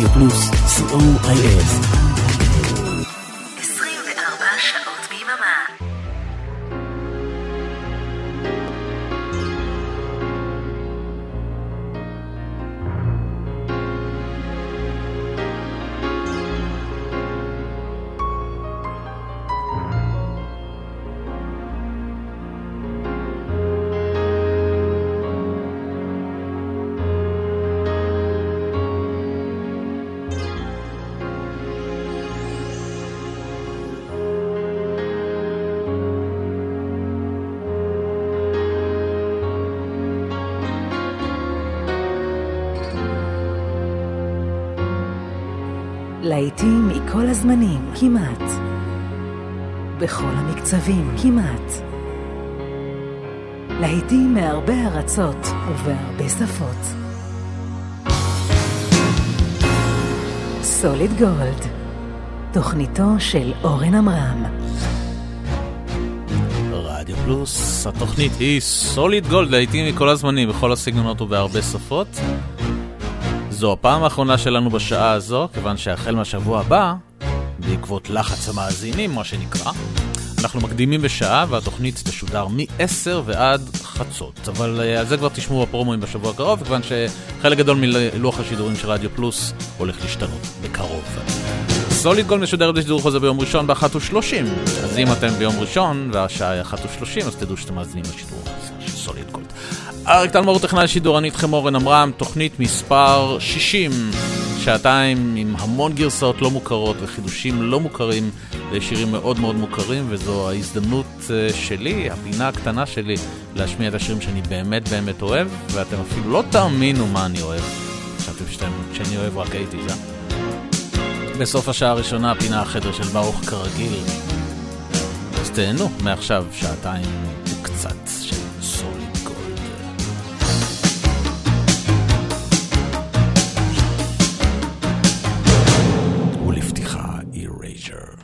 רדיו פלוס, COIS. 24 שעות ביממה. להיטים מכל הזמנים, כמעט. בכל המקצבים, כמעט. להיטים מהרבה ארצות ובהרבה שפות. סוליד גולד, תוכניתו של אורן עמרם. רדיו פלוס, התוכנית היא סוליד גולד, להיטים מכל הזמנים, בכל הסגנונות ובהרבה שפות. זו הפעם האחרונה שלנו בשעה הזו, כיוון שהחל מהשבוע הבא, בעקבות לחץ המאזינים, מה שנקרא, אנחנו מקדימים בשעה, והתוכנית תשודר מ-10 ועד חצות. אבל על זה כבר תשמעו הפרומואים בשבוע הקרוב, כיוון שחלק גדול מלוח השידורים של רדיו פלוס הולך להשתנות בקרוב. סוליד גולד משודרת בשידור חוזר ביום ראשון ב-1:30. אז אם אתם ביום ראשון והשעה היא 1:30, אז תדעו שאתם מאזינים לשידור של סוליד גולד. אריק טלמור, טכנאי שידור, אני איתכם אורן עמרם, תוכנית מספר 60, שעתיים עם המון גרסאות לא מוכרות וחידושים לא מוכרים לשירים מאוד מאוד מוכרים, וזו ההזדמנות שלי, הפינה הקטנה שלי, להשמיע את השירים שאני באמת באמת אוהב, ואתם אפילו לא תאמינו מה אני אוהב. חשבתם שאני אוהב רק 80's, בסוף השעה הראשונה, הפינה החדר של ברוך כרגיל. אז תהנו, מעכשיו שעתיים וקצת של סוליד גולד. ולפתיחה Erasure.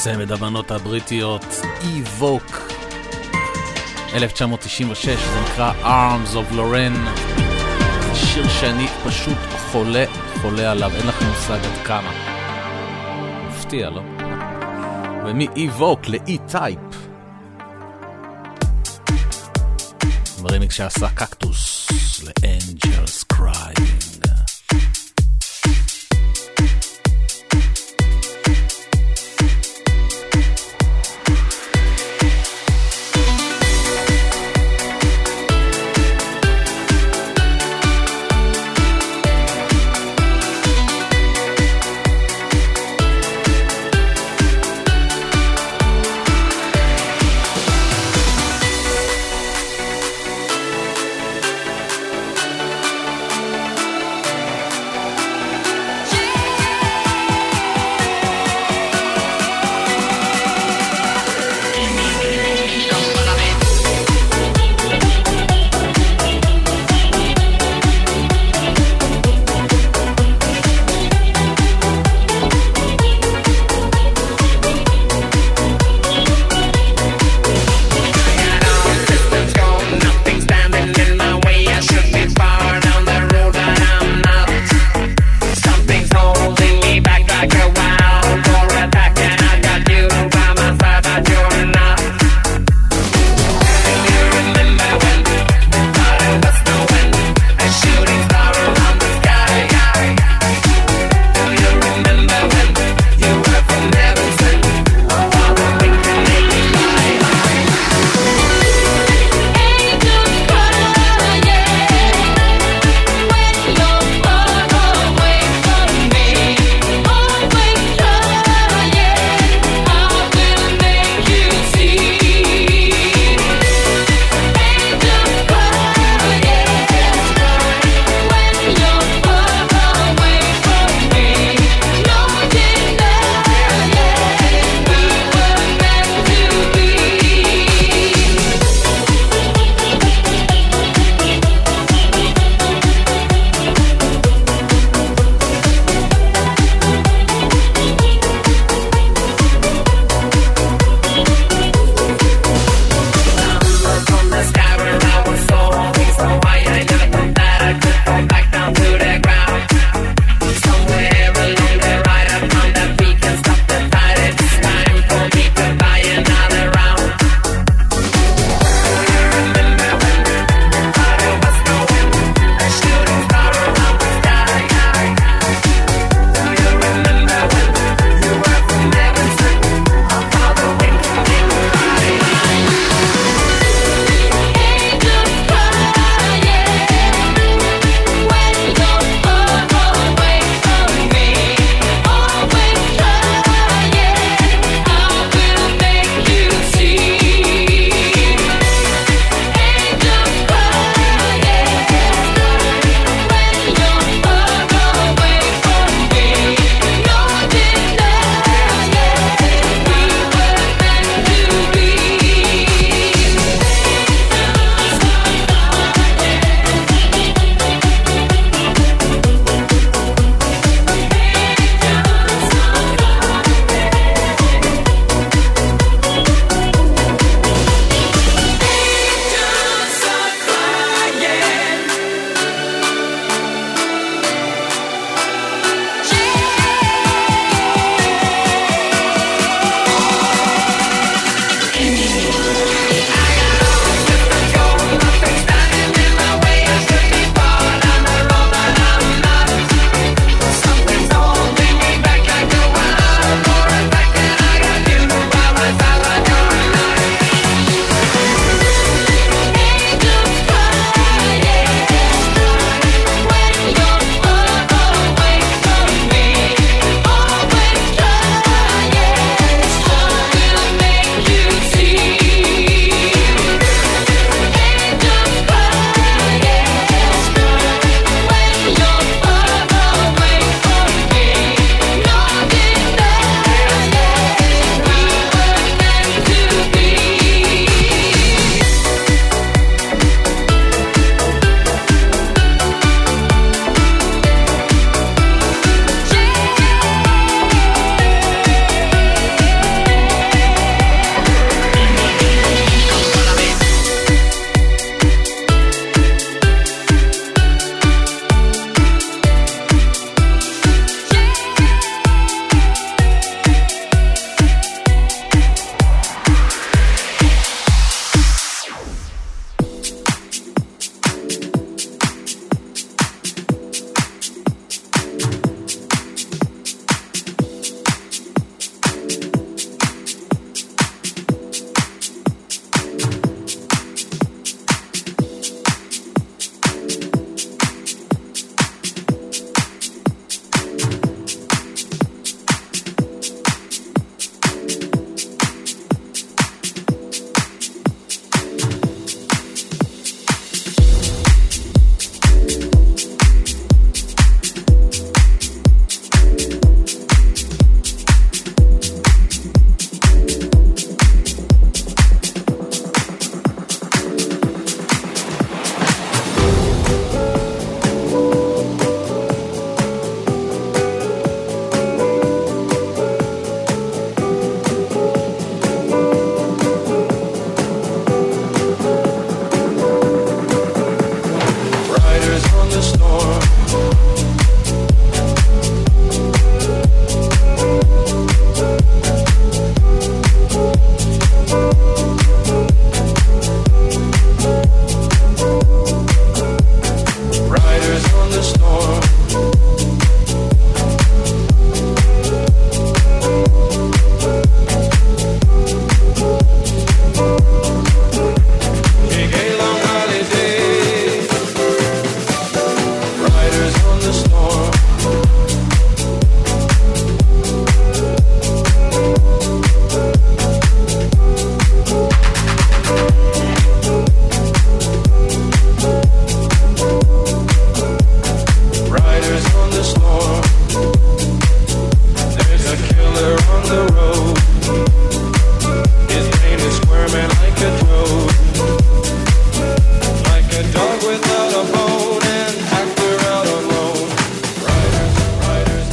צמד הבנות הבריטיות, Evoke, 1996, זה נקרא Arms of Lorraine, שיר שאני פשוט חולה עליו, אין לכם מושג עד כמה. מפתיע, לא? ומ-Evoke ל-E-Type, ברמיקס שעשה קקטוס ל-Angels Crying. the road. His pain is squirming like a toad, like a dog without a bone, and actor out alone. Riders, riders,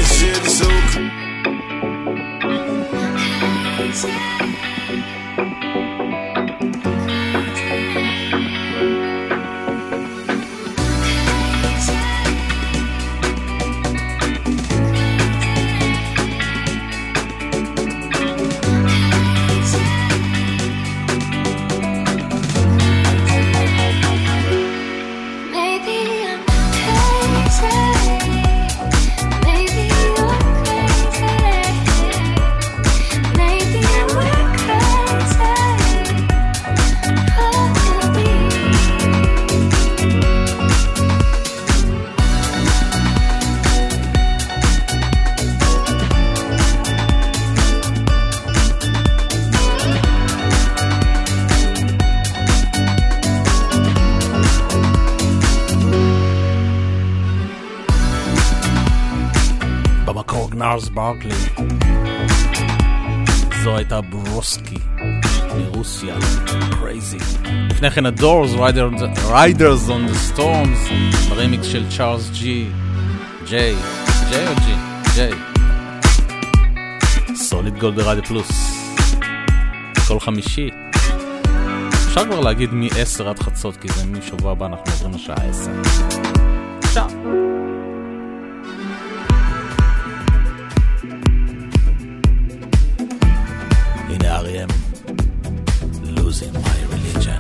this shit is so נארס ברקלי. זו הייתה ברוסקי מרוסיה. קרייזי. לפני כן הדורס, Riders on the Storms, ברמיקס של צ'ארלס ג'יי או ג'יי. סוליד גולד ברדיו פלוס. כל חמישי. אפשר כבר להגיד מ-10 עד חצות, כי זה משבוע הבא אנחנו עוברים לשעה 10. עכשיו. הנה R.E.M. Losing my religion.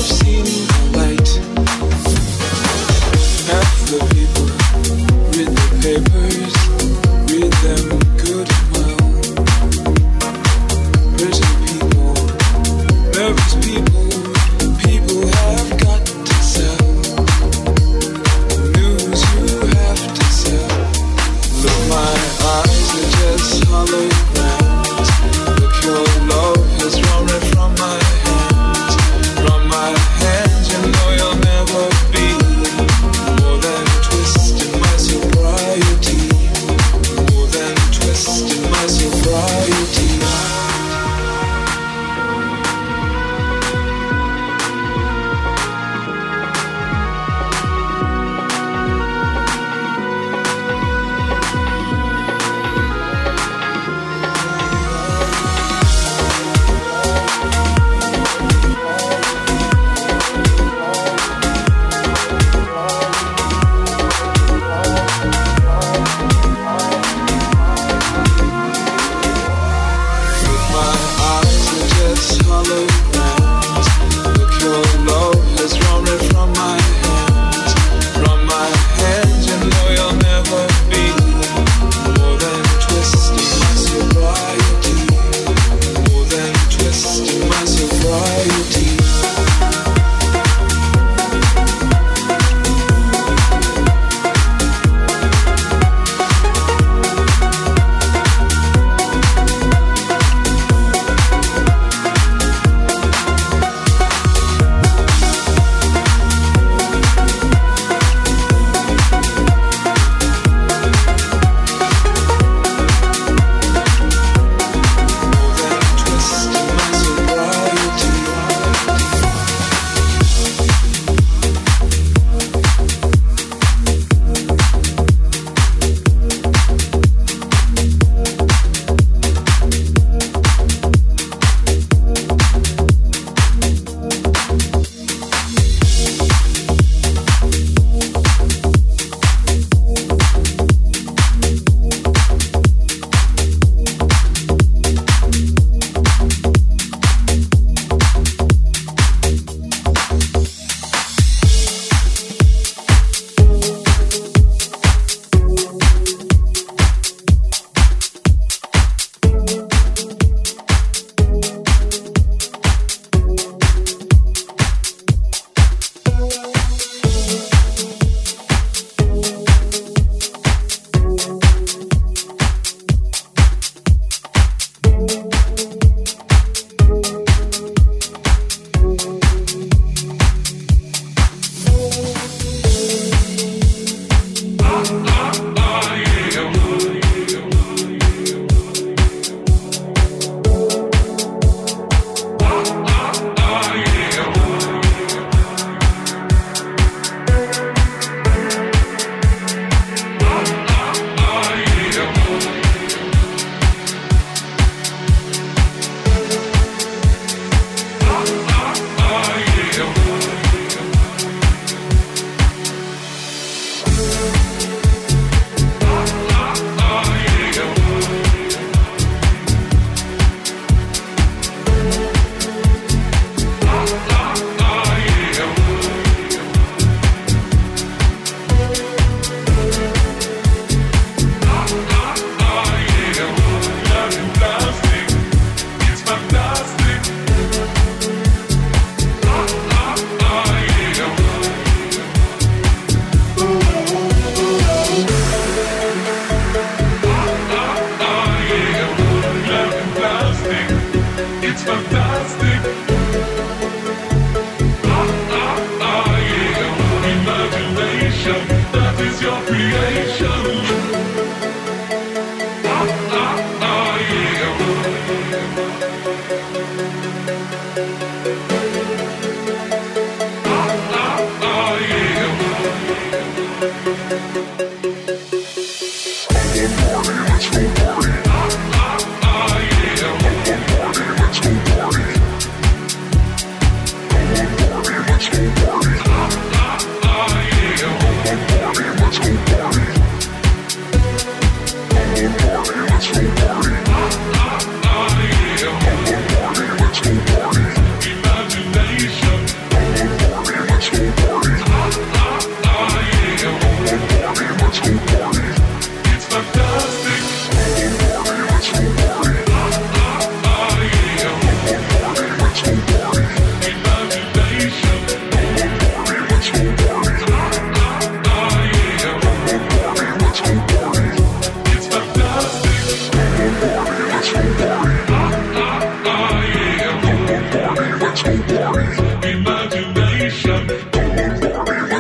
Let's go party.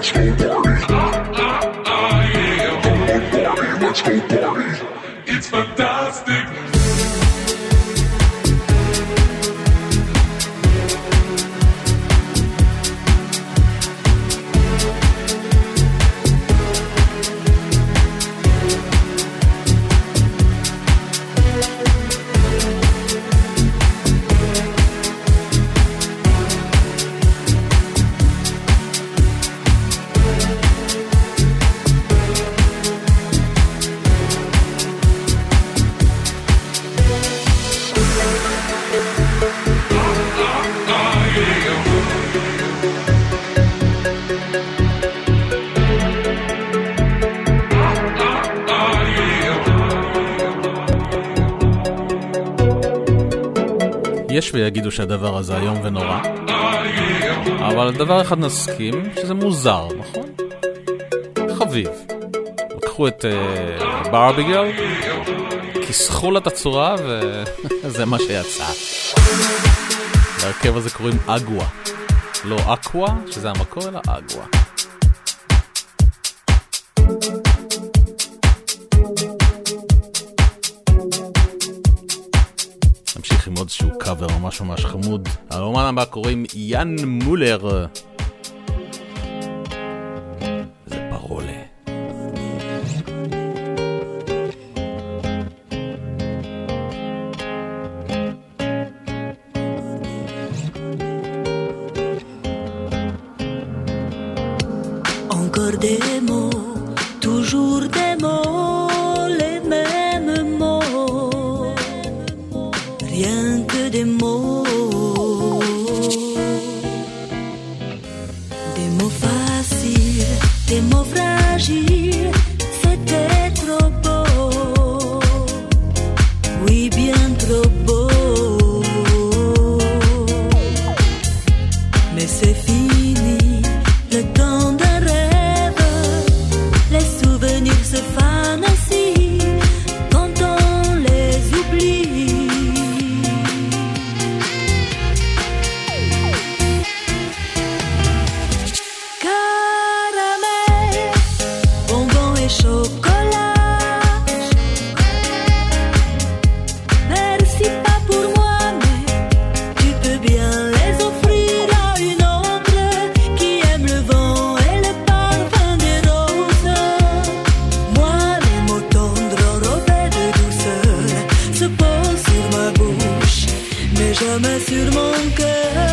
let's go party. Come on party, let's go party. It's fantastic. יש ויגידו שהדבר הזה היום ונורא, אבל דבר אחד נסכים, שזה מוזר, נכון? חביב. לקחו את ברבי גרל, כיסחו לה את הצורה, וזה מה שיצא. להרכב הזה קוראים אגווה. לא אקווה, שזה המקור, אלא אגווה. נמשיך עם עוד שהוא קאבר ממש ממש חמוד. הרומן הבא קוראים יאן מולר. זה פרולה. Encore des mots, toujours des mots, les mêmes mots, rien que des mots faciles, des mots fragiles, c'était trop beau, oui bien trop beau, mais c'est fini, le temps d'un rêve, les souvenirs se fanent ainsi quand on les oublie. Caramel, bonbons et chocolat, merci pas pour moi, mais tu peux bien les offrir à une autre qui aime le vent et le parfum des roses. Moi, les mots tendres enrobés de douceur se posent sur ma bouche, mais jamais sur mon cœur.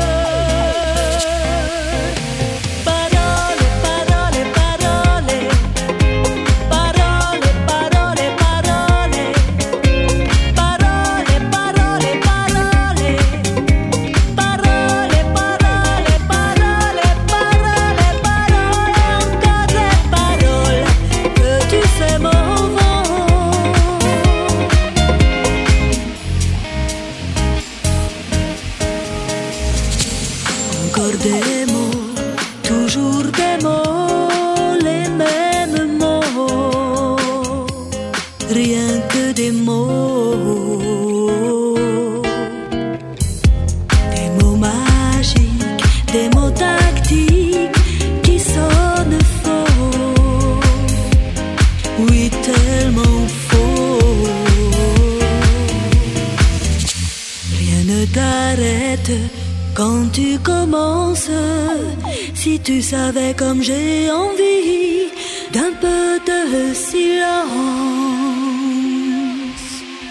Parole, parole, parole, parole, parole, parole, parole, parole, parole, parole, parole, parole, parole, parole, encore des paroles que tu sais mon vent. Encore des mots, toujours des mots, les mêmes mots, rien que des mots. Des mots magiques, des mots tactiques qui sonnent faux, oui tellement faux. Rien ne t'arrête quand tu commences. Si tu savais comme j'ai envie d'un peu de silence.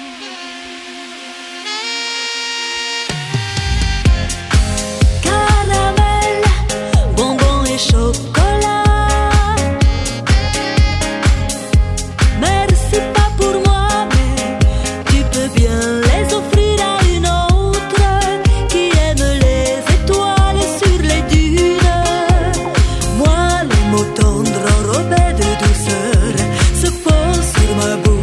Caramel, bonbons et chocolat, merci pas pour moi, mais tu peux bien les offrir à une autre qui aime les étoiles sur les dunes. Moi, les mots tendres enrobés de douceur se posent sur ma bouche.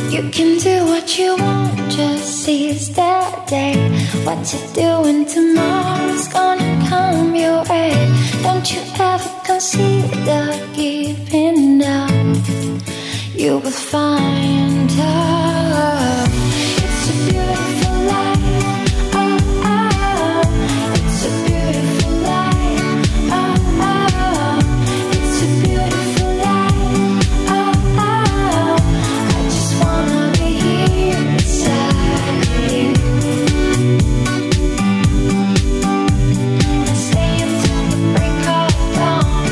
You can do what you want, just seize that day. What you're doing tomorrow's gonna come your way. Don't you ever consider giving up. You will find out. It's a beautiful life. Oh, oh. It's a beautiful life. Oh, oh. It's a beautiful life. Oh, oh. I just wanna be here beside you. And stay until the break of dawn.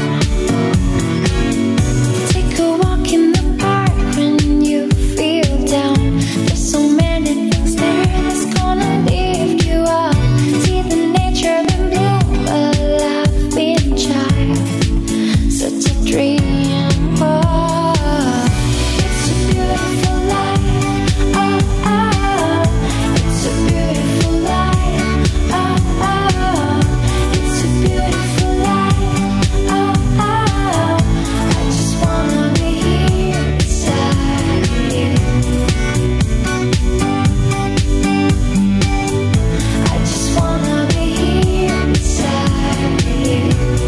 Take a walk in the park when you feel down. There's so many things there that's gonna lift you up. See the nature in bloom, a laughing child. Such a dream. Oh, it's a beautiful life. Oh, oh. It's a beautiful life. Oh, oh. It's a beautiful life. Oh, oh. I just wanna be here beside you. I just wanna be here beside you.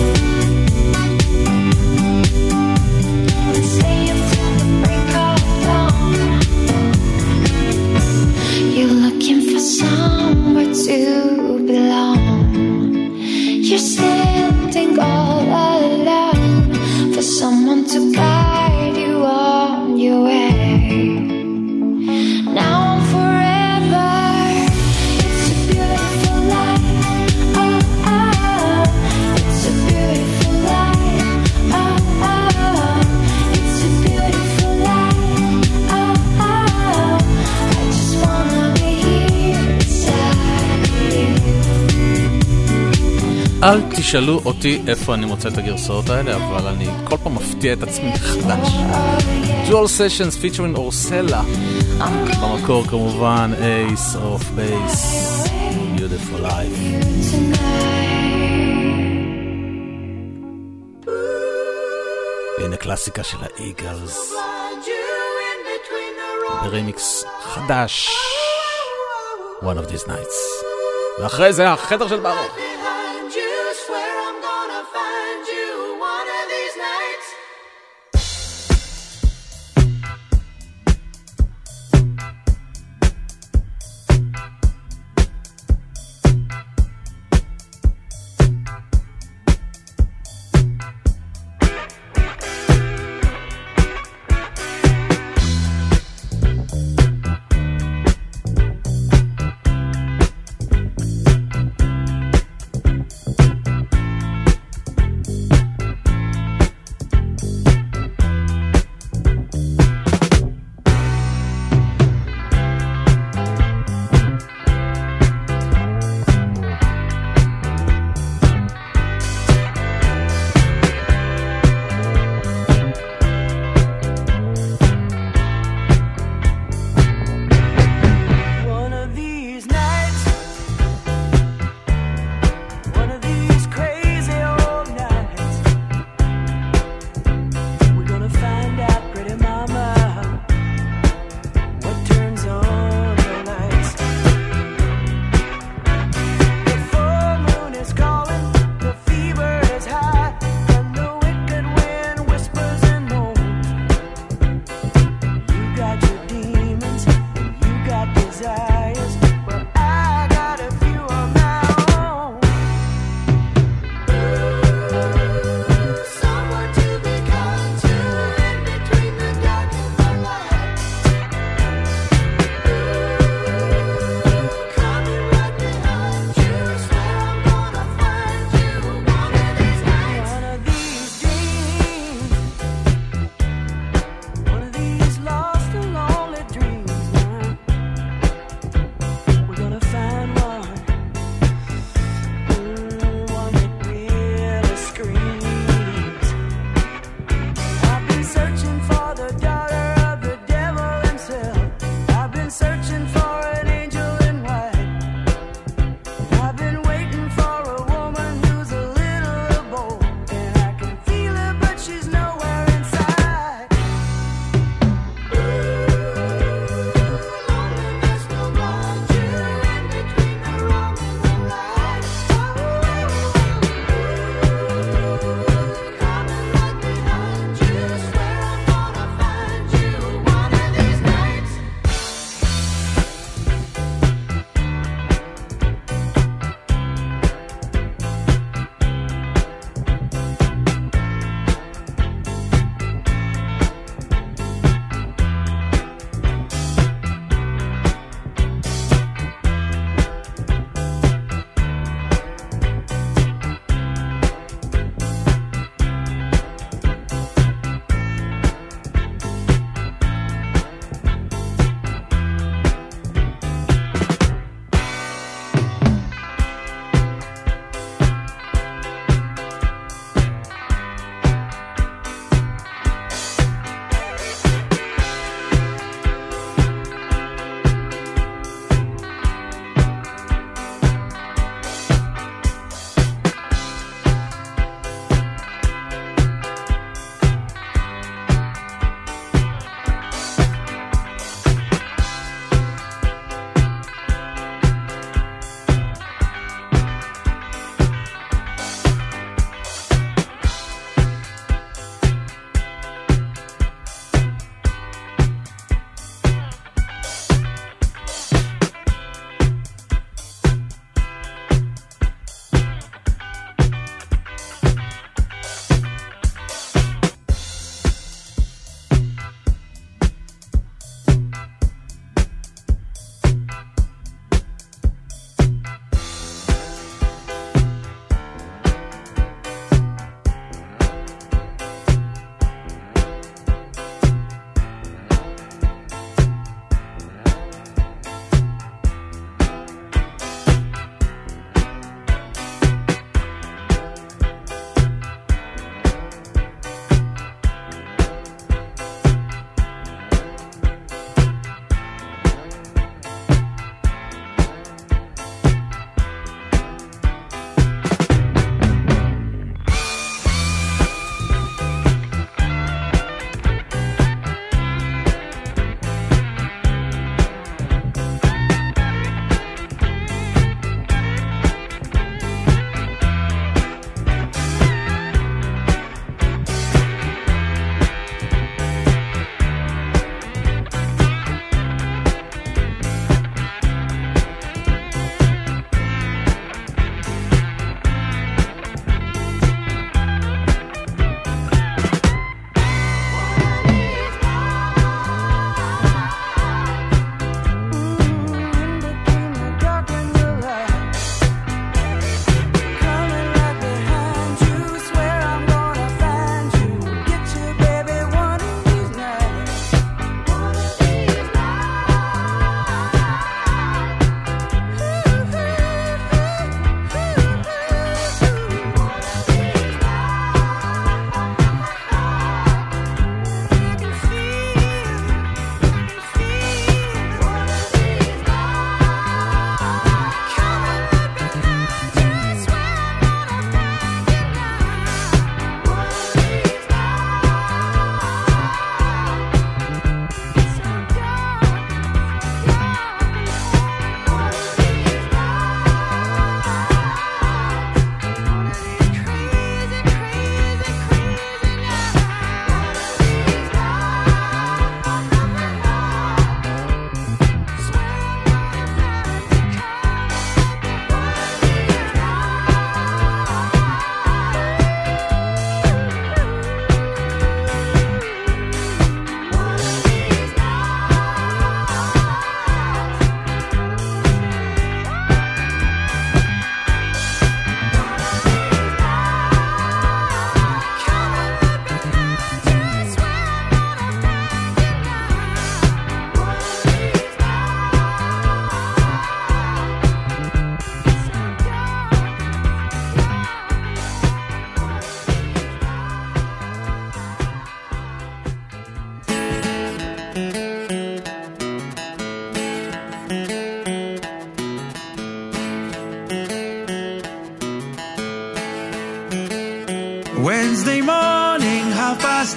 And stay until the break of dawn. You're looking for somewhere to belong. You're standing all alone for someone to guide you on your way. Now and forever. It's a beautiful life. Oh, oh. It's a beautiful life. Oh, oh. It's a beautiful life. Oh, oh. I just wanna be here beside you. אל תשאלו אותי איפה אני מוצא את הגרסאות האלה, אבל אני כל פעם מפתיע את עצמי מחדש. Dual Sessions featuring אורסלה. במקור כמובן Ace of Base, Beautiful Life. הנה קלאסיקה של האיגלס. ברמיקס חדש. One of these nights. ואחרי זה החדר של ברוך. Behind you, swear I'm gonna find you one of these nights.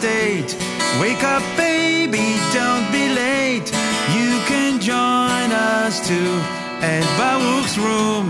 state. Wake up, baby, don't be late. You can join us too at Baruch's room.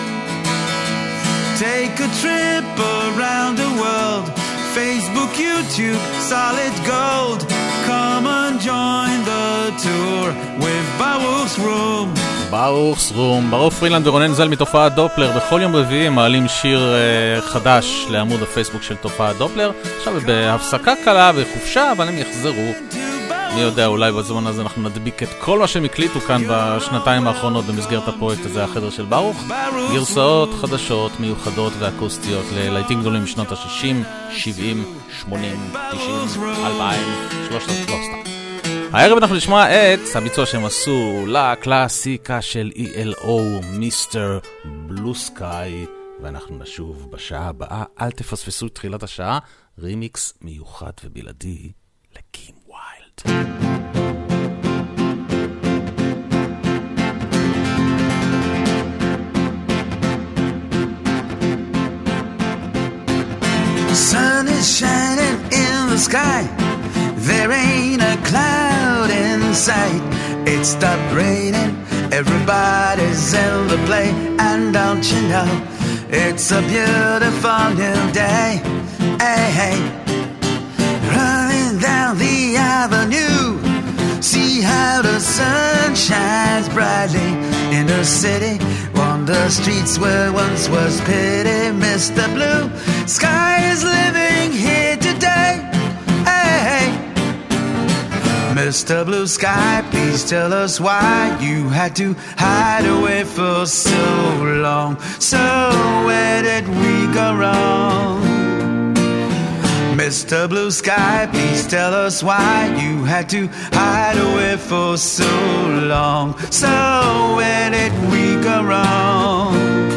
Take a trip around the world. Facebook, YouTube, solid gold. Come and join the tour with Baruch's room. Baruch's room. ברוך פרילנד ורונן זל מתופעת דופלר. בכל יום רביעי מעלים שיר חדש לעמוד הפייסבוק של תופעת דופלר. עכשיו בהפסקה קלה וחופשה, אבל הם יחזרו. אני יודע, אולי בזמן הזה אנחנו נדביק את כל מה שהם הקליטו כאן בשנתיים האחרונות במסגרת הפרויקט הזה, החדר של ברוך. גרסאות חדשות, מיוחדות ואקוסטיות ללהיטים גדולים משנות ה-60, 70, 80, 90, 2000, 300, לא סתם. הערב אנחנו נשמע את הביצוע שהם עשו לקלאסיקה של ELO, מיסטר בלו סקאי, ואנחנו נשוב בשעה הבאה. אל תפספסו את תחילת השעה, רימיקס מיוחד ובלעדי לקים ויילד. Sun is shining in the sky. There ain't a cloud in sight. It stopped raining. Everybody's in the play. And don't you know, it's a beautiful new day. Hey, hey. Running down the avenue. See how the sun shines brightly in the city. On the streets where once was pity. Mr. Blue Sky is living here today. Hey, hey. Mr. Blue Sky, please tell us why you had to hide away for so long. So where did we go wrong? Mr. Blue Sky, please tell us why you had to hide away for so long. So where did we go wrong?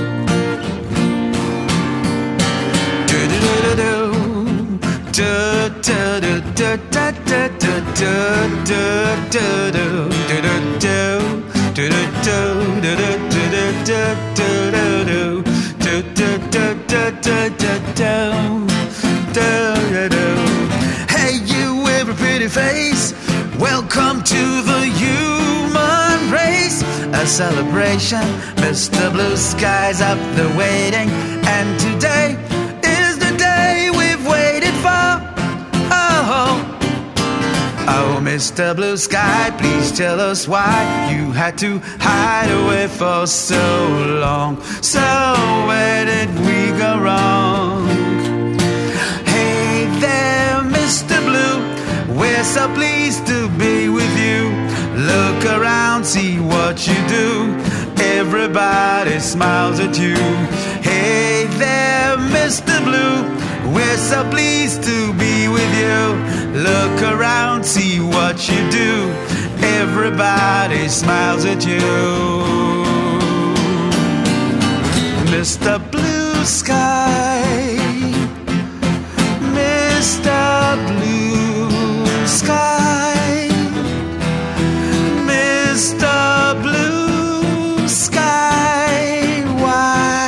Hey, you with a pretty face, welcome to the human race. A celebration, Mr. Blue Sky's up the waiting, and today is the day we've waited for. Oh, oh, Mr. Blue Sky, please tell us why you had to hide away for so long. So where did we go wrong? Hey there, Mr. Blue, we're so pleased to be with you. Look around, see what you do. Everybody smiles at you. Hey there, Mr. Blue, we're so pleased to be with you. Look around, see what you do. Everybody smiles at you. Mr. Blue Sky, Mr. Blue Sky, Mr. Blue Sky, why?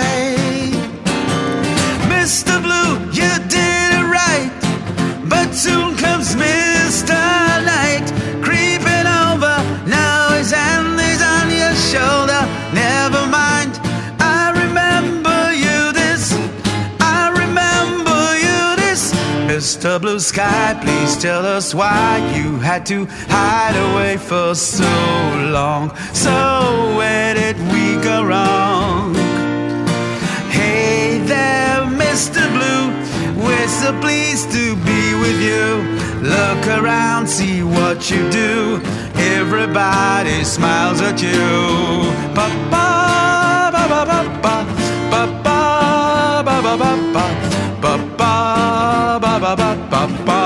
Mr. Blue, you did it right, but soon comes Mr. Night, creeping over, now his hand is on your shoulder. Never mind, I remember you this, I remember you this. Mr. Blue Sky, please tell us why you had to hide away for so long. So where did we go wrong? Hey there, Mr. Blue, we're so pleased to be with you. Look around, see what you do. Everybody smiles at you. Ba ba ba ba ba ba ba ba ba ba ba ba ba ba ba ba ba ba ba.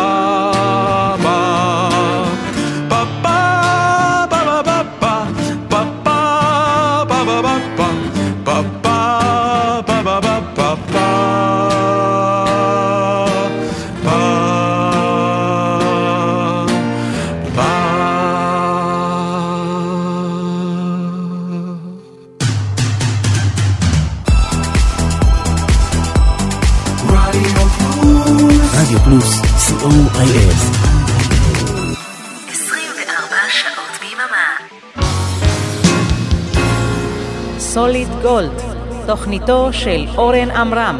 רדיו פלוס, COIS. 24 שעות ביממה. סוליד גולד, תוכניתו של אורן עמרם.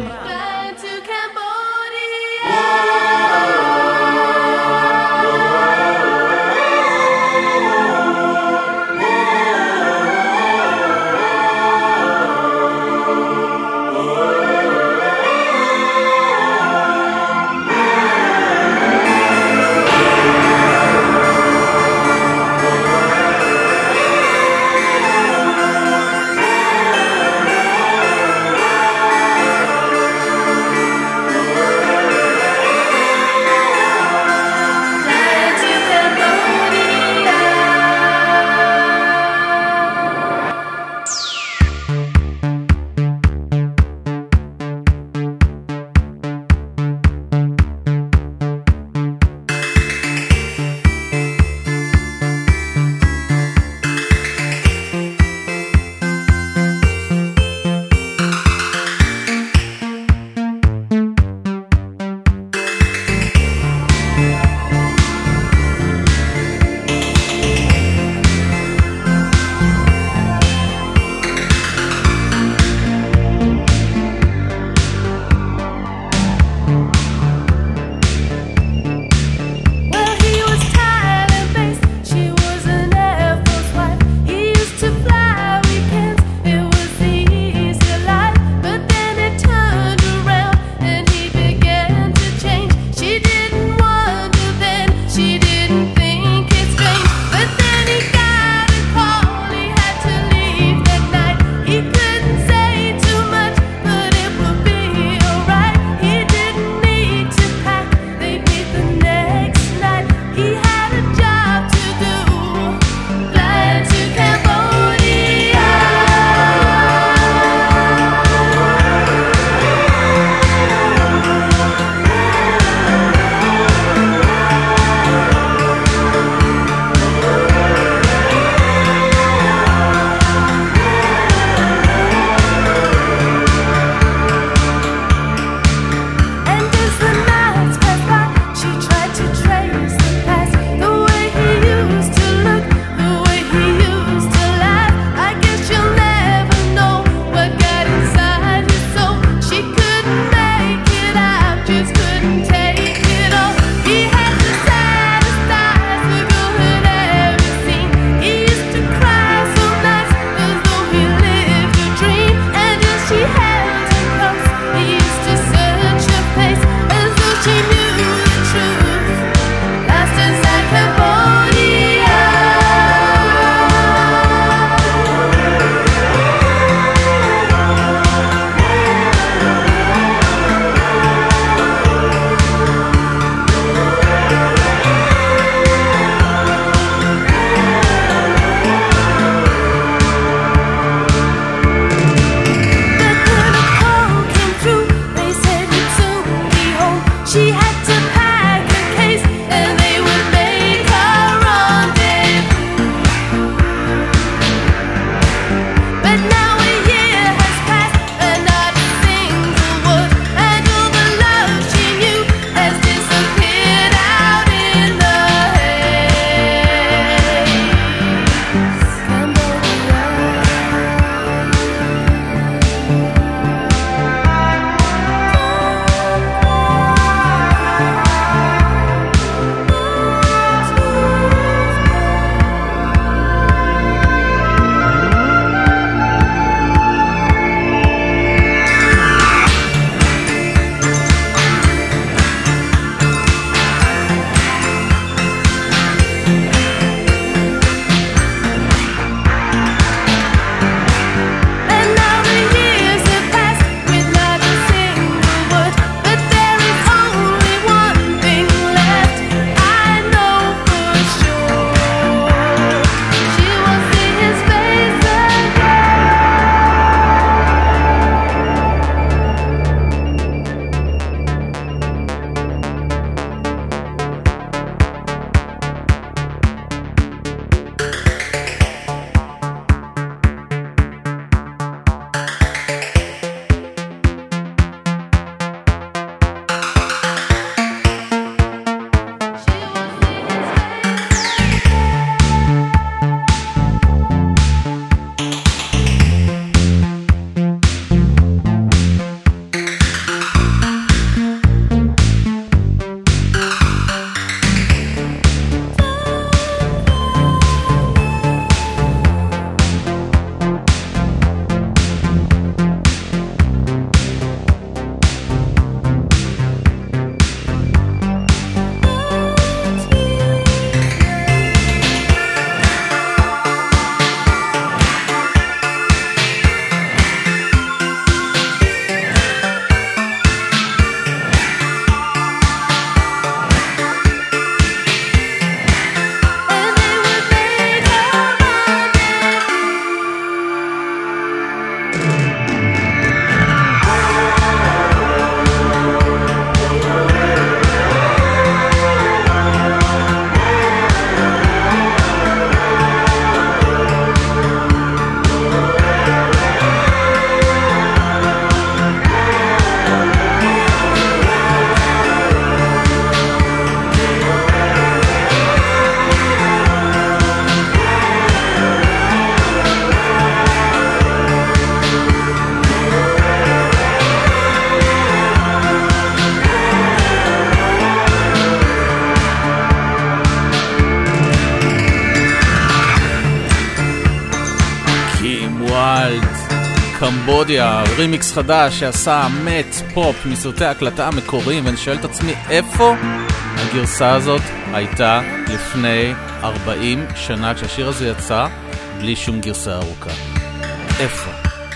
ויילד, קמבודיה, רימיקס חדש שעשה מאט פופ מסרטי ההקלטה המקוריים, ואני שואל את עצמי איפה הגרסה הזאת הייתה לפני 40 שנה כשהשיר הזה יצא בלי שום גרסה ארוכה. איפה?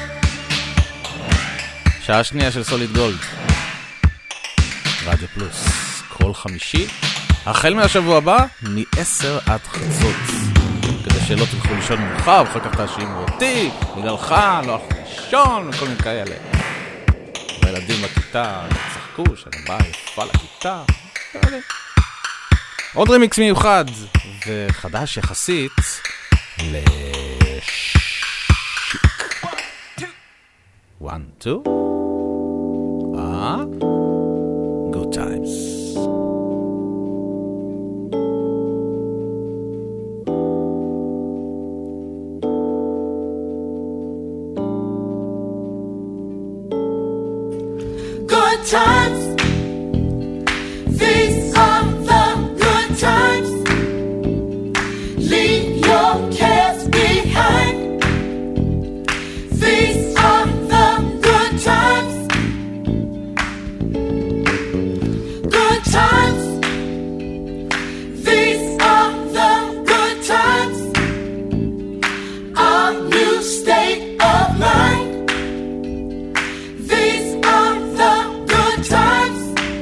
שעה שנייה של סוליד גולד, רדיו פלוס, כל חמישי החל מהשבוע הבא מ-10 עד חצות, כדי שלא תלכו לישון מאוחר ואחר כך תאשימו אותי בגללך לא הלכו לישון וכל מיני כאלה. והילדים בכיתה צחקו שאני באה יפה לכיתה. עוד רימיקס מיוחד וחדש יחסית לשיק. 1, 2 Good times. Good times, these are the good times. Leave your cares behind. These are the good times. Good times, these are the good times. A new state of mind. These are the good times.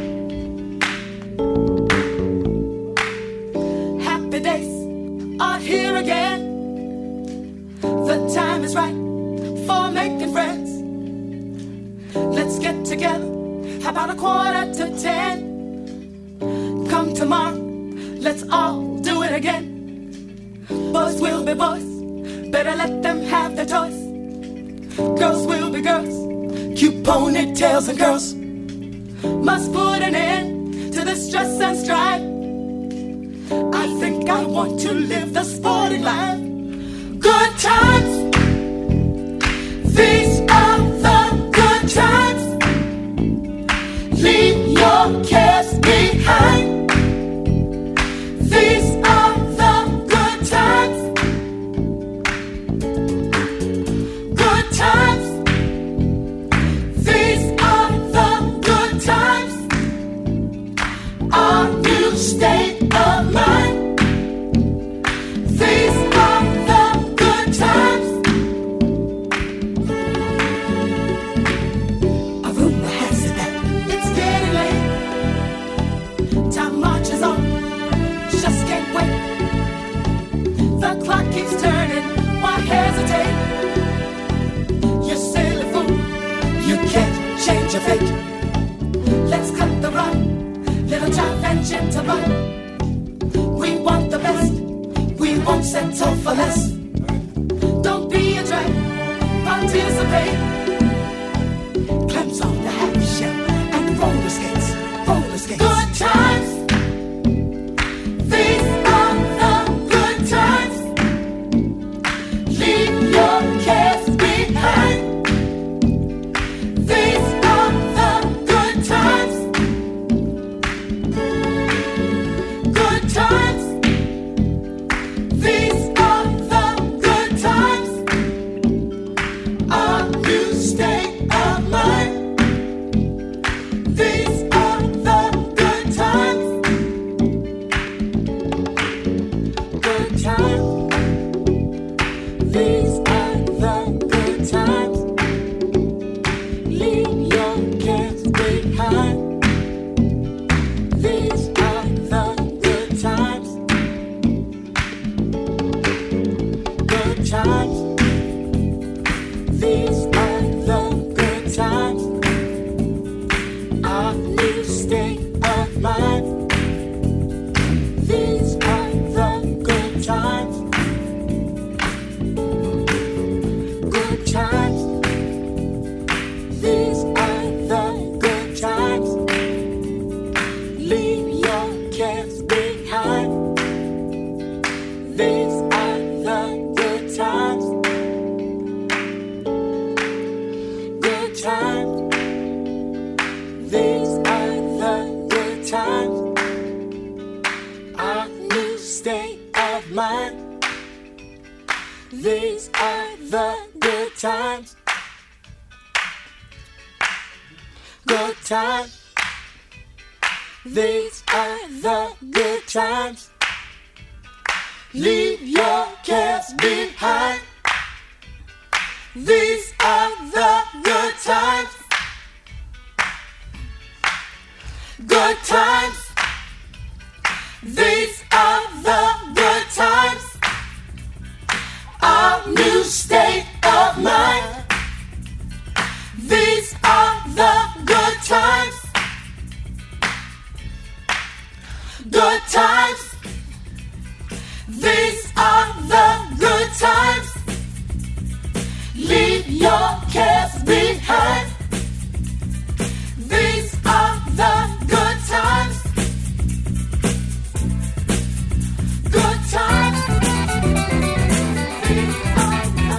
Happy days are here again. The time is right for making friends. Let's get together about 9:45. Come tomorrow, let's all do it again. Boys will be boys, better let them have their choice. Girls will be girls, cute ponytails and girls. Must put an end to the stress and strife. I think I want to live the sporting life. Good times, these are the good times. Leave your cares behind. These are the good times. Good times, these are the good times. A new state of mind. These are the good times. A rumor has it that it's getting late. Time marches on, just can't wait. The clock keeps turning, why hesitate? You silly fool, you can't change your fate. Let's cut the run, little jive and gentle run. We want the best, we won't settle for less. Don't be a drag, participate. Clamps on the half shell and roller skates, roller skates. Good times, these are the good times. Leave your cares behind. These are the good times. Good times, these are the good times. A new state of mind. These are the good times. Good times, these are the good times. Leave your cares behind. These are the good times. Good times, these are the good times. A new state of mind. These are the good times. Good times, these are the good times. Leave your cares behind. These are the good times. Good times, these are the good times. A new state of mind. These are the good times. Good times. These are the good times. Leave your cares behind. These are the good times. Good times. These are the good times. Our new state of mind. These are the good times. Good times. These are the good times. Leave your cares behind. These are the good times. Good times. These are the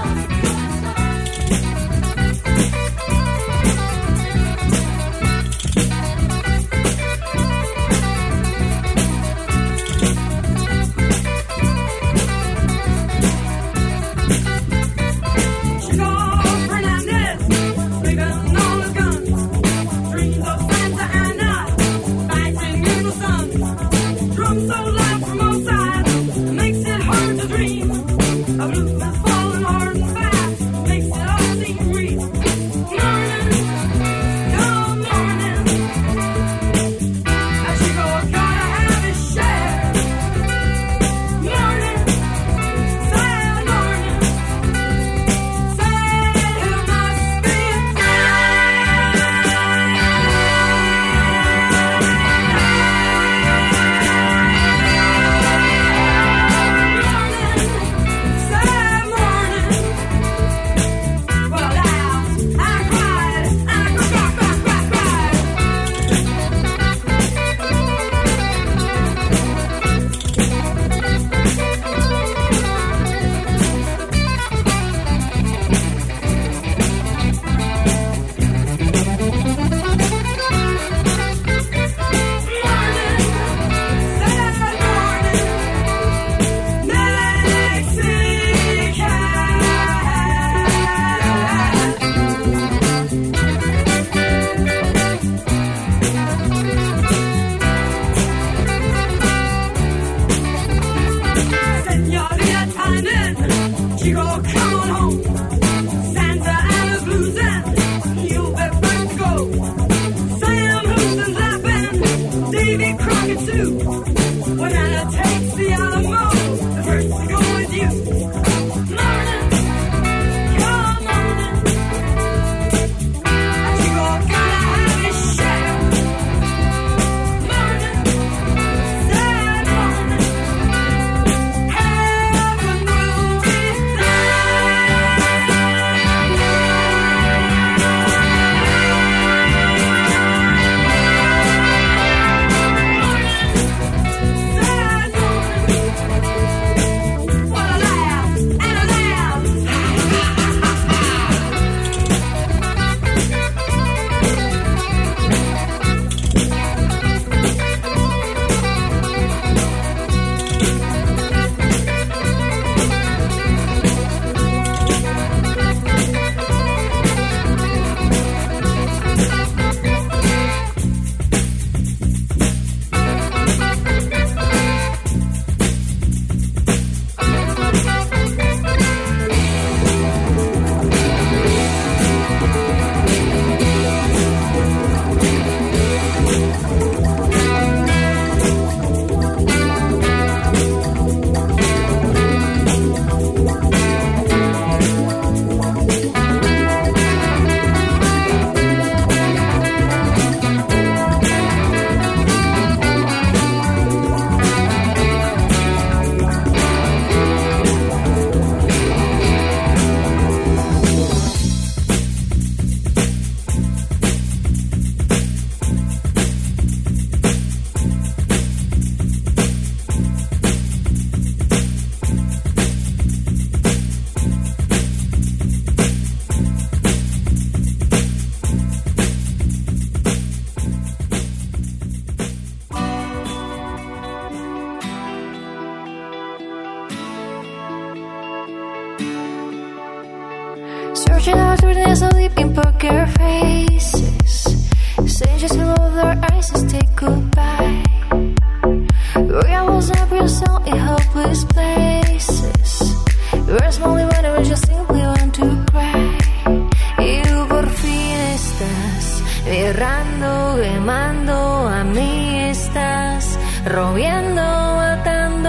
Searching out through the sleeping poker faces, saying just hello with their eyes and say goodbye. Where I was up real soul in hopeless places, where small when I just simply want to cry. Y tú por fin estás errando, quemando, a mí estás robiendo, matando.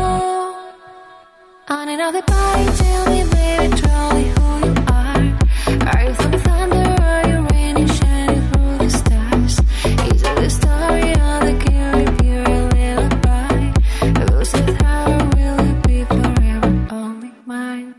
On another bite, tell me baby truly who you are. Are you from the thunder, are you raining, shining through the stars? Is it the story of the Kiri Pure lullaby? Who's it, how will it be forever only mine?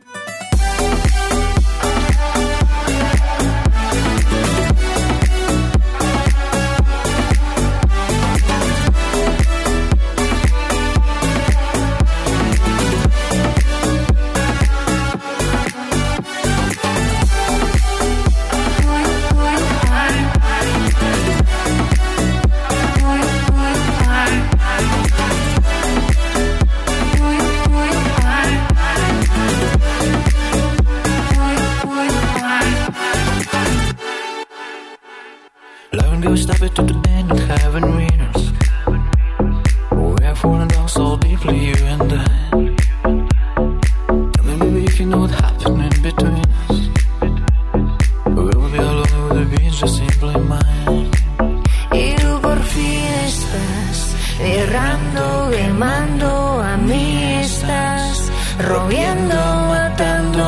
Loving goes stop it to the end and having winners. We have fallen down so deeply, you and I. Tell me baby if you know what happened in between us. We'll be alone with the beach just simply mine. Y tú por fin estás errando, quemando, a mí estás robiendo, matando.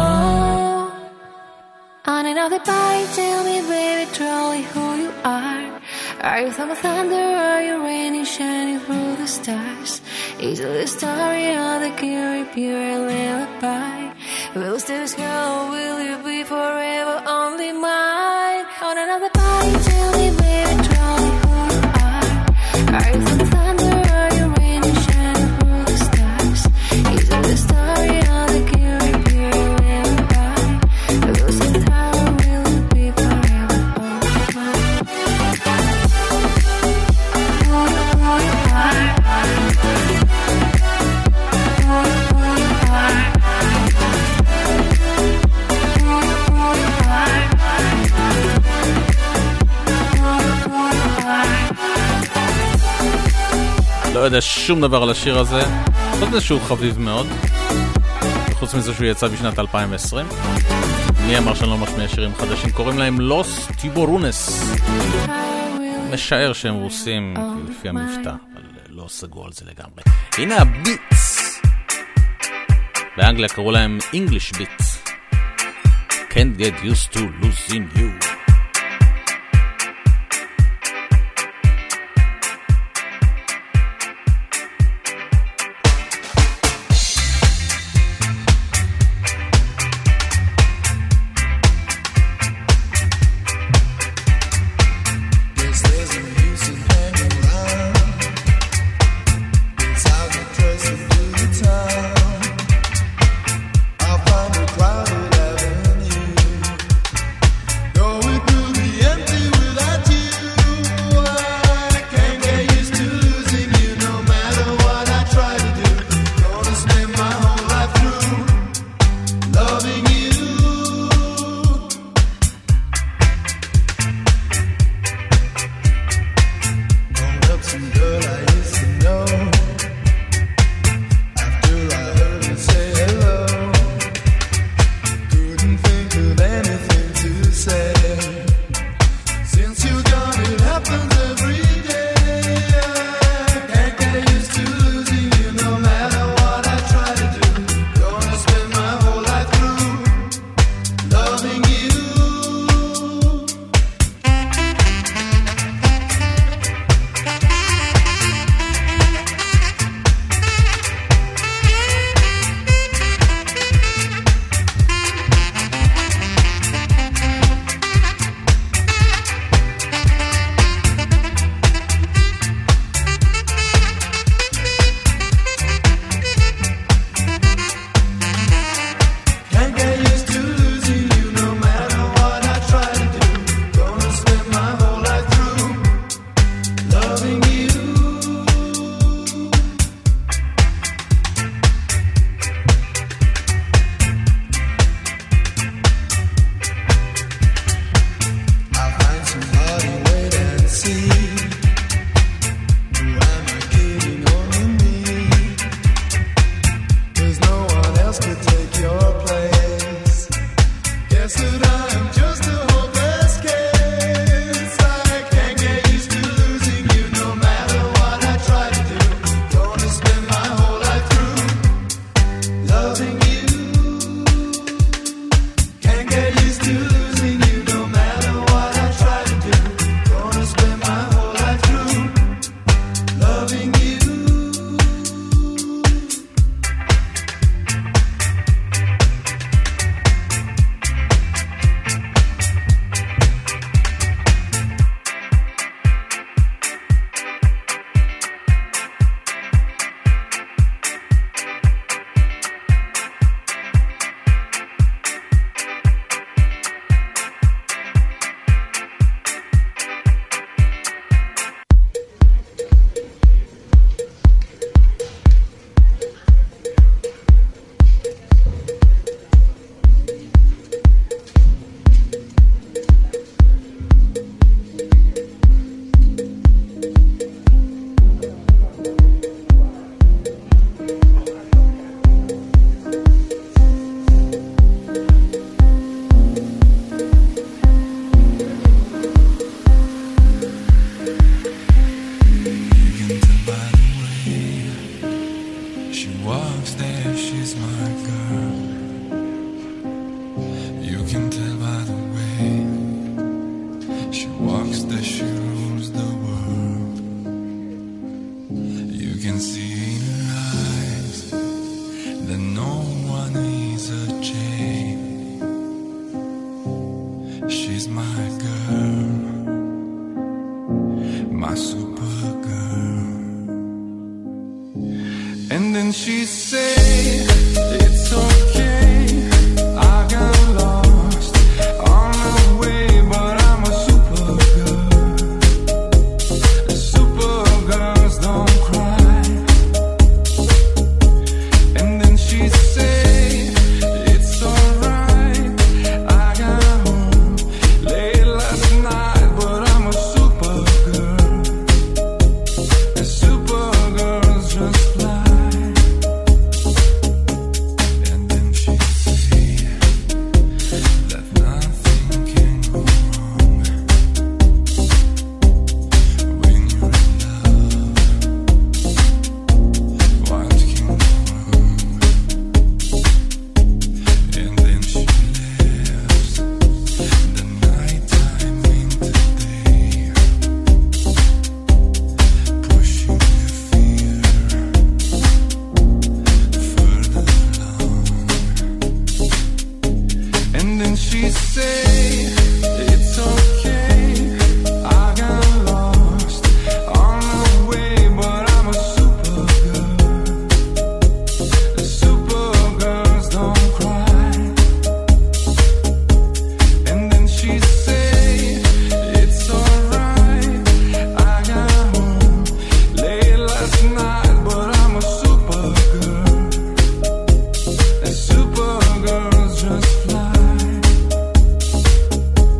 On another bite, tell me baby truly who you are. Are you from the thunder, are you raining, shining through the stars? Is it the story of the Kiri Pure lullaby? Will this girl, will you be forever only mine? On another bite, tell me baby truly who you are. Are you from the thunder, are you raining, shining through the stars? Is it the story of the Kiri Pure lullaby? Will this how will you be forever only mine? Who you are? Who you are? לא יודע שום דבר על השיר הזה, לא יודע שהוא חביב מאוד, וחוץ מזה שהוא יצא בשנת 2020. מי אמר שאני לא משמיע שירים חדשים? קוראים להם לוס טיבורונס. משער שהם רוסים לפי המבטא, אבל לא סגור על זה לגמרי. הנה הביטס, באנגליה קראו להם English Beats. Can't get used to losing you. Going she's my girl, my super girl. And then she say, it's okay, I got lost on the way, but I'm a super girl. Super girls don't cry. And then she say, it's alright, I got home late last night, but I'm a super girl. And super girls just fly. And then she see that nothing can go wrong when you're in love. What can go wrong? And then she lives the nighttime into day, pushing the fear further along. And then she say, it's okay, I got lost on the way, but I'm a super girl. Super girls don't cry. And then she say, it's alright, I got home late last night, but I'm a super girl. And super girls just fly.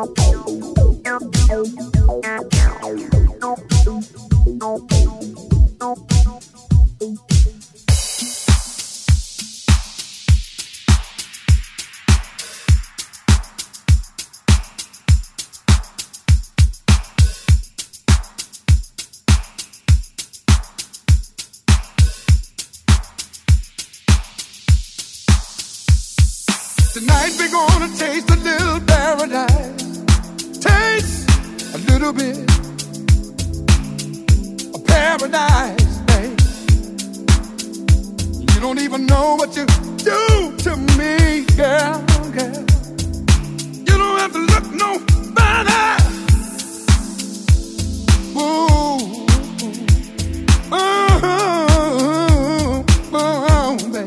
Tonight we're gonna taste a little paradise. Taste a little bit of paradise, babe. You don't even know what you do to me, girl, girl. You don't have to look no further. Ooh, babe.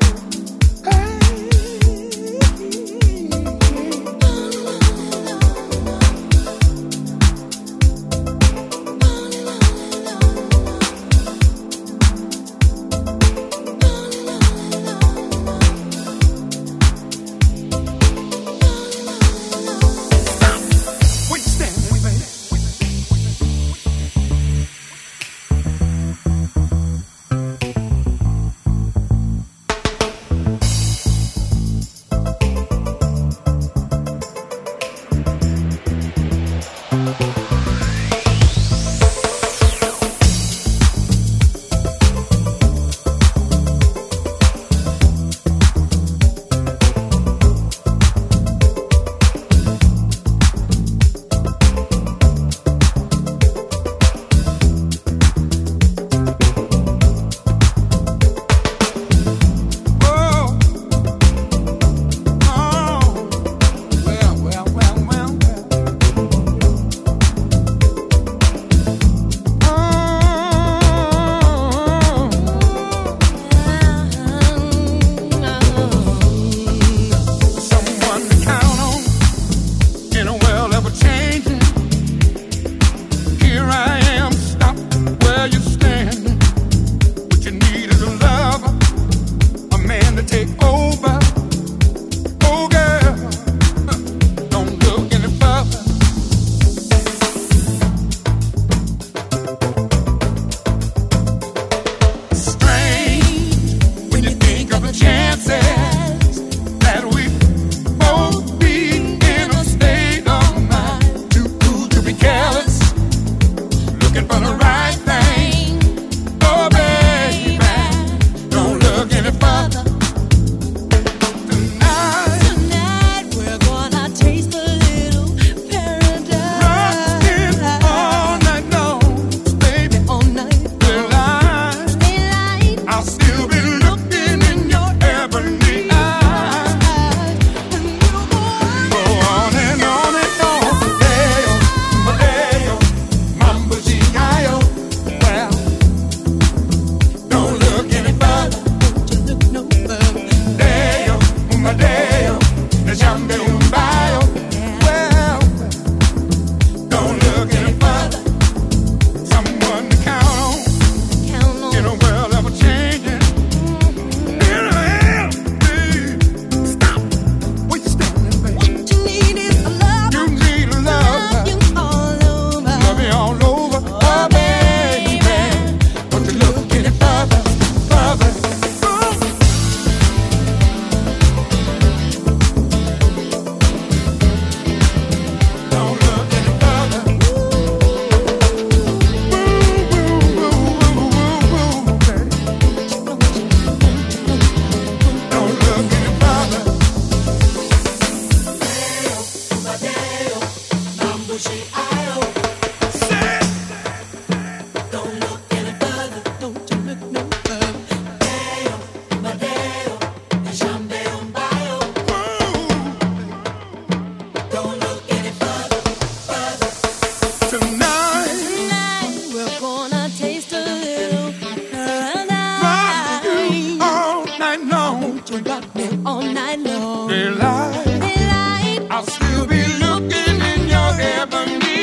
I'll still be looking in your ebony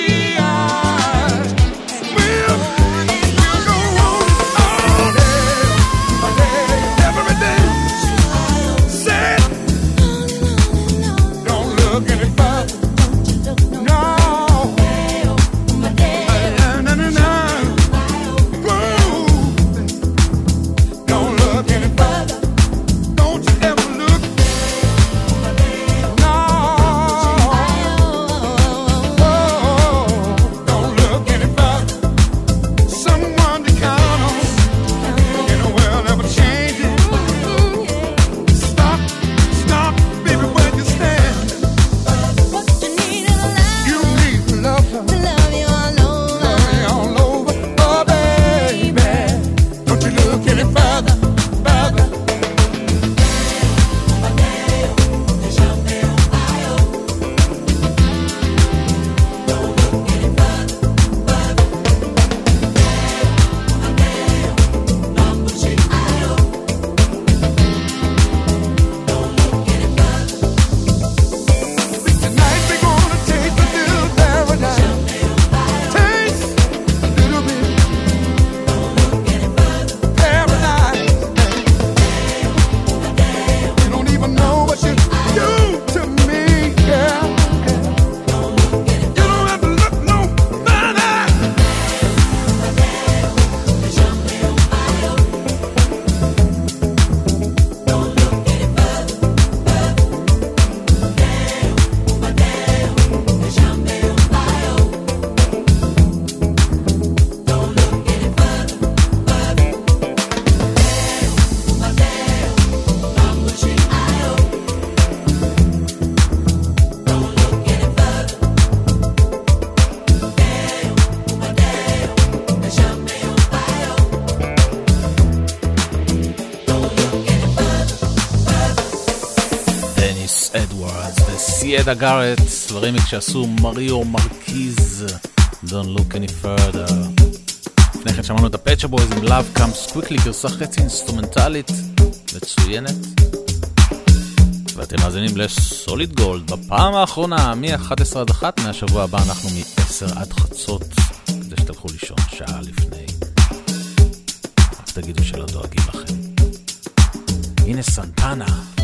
דיאדה גארט, ורימיק שעשו מריו מרקיז, Don't look any further. לפני כן שמענו את הפצ'ה בויז עם Love Comes Quickly, גרסה חצי אינסטרומנטלית מצוינת. ואתם מאזינים לסוליד גולד בפעם האחרונה מ-11 עד 1, מהשבוע הבא אנחנו מ-10 עד חצות, כדי שתלכו לישון שעה לפני. רק תגידו שלא דואגים לכם. הנה סנטנה,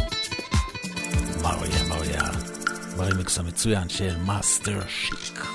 מריה, ברימיקס המצוין של מאסטר שיק.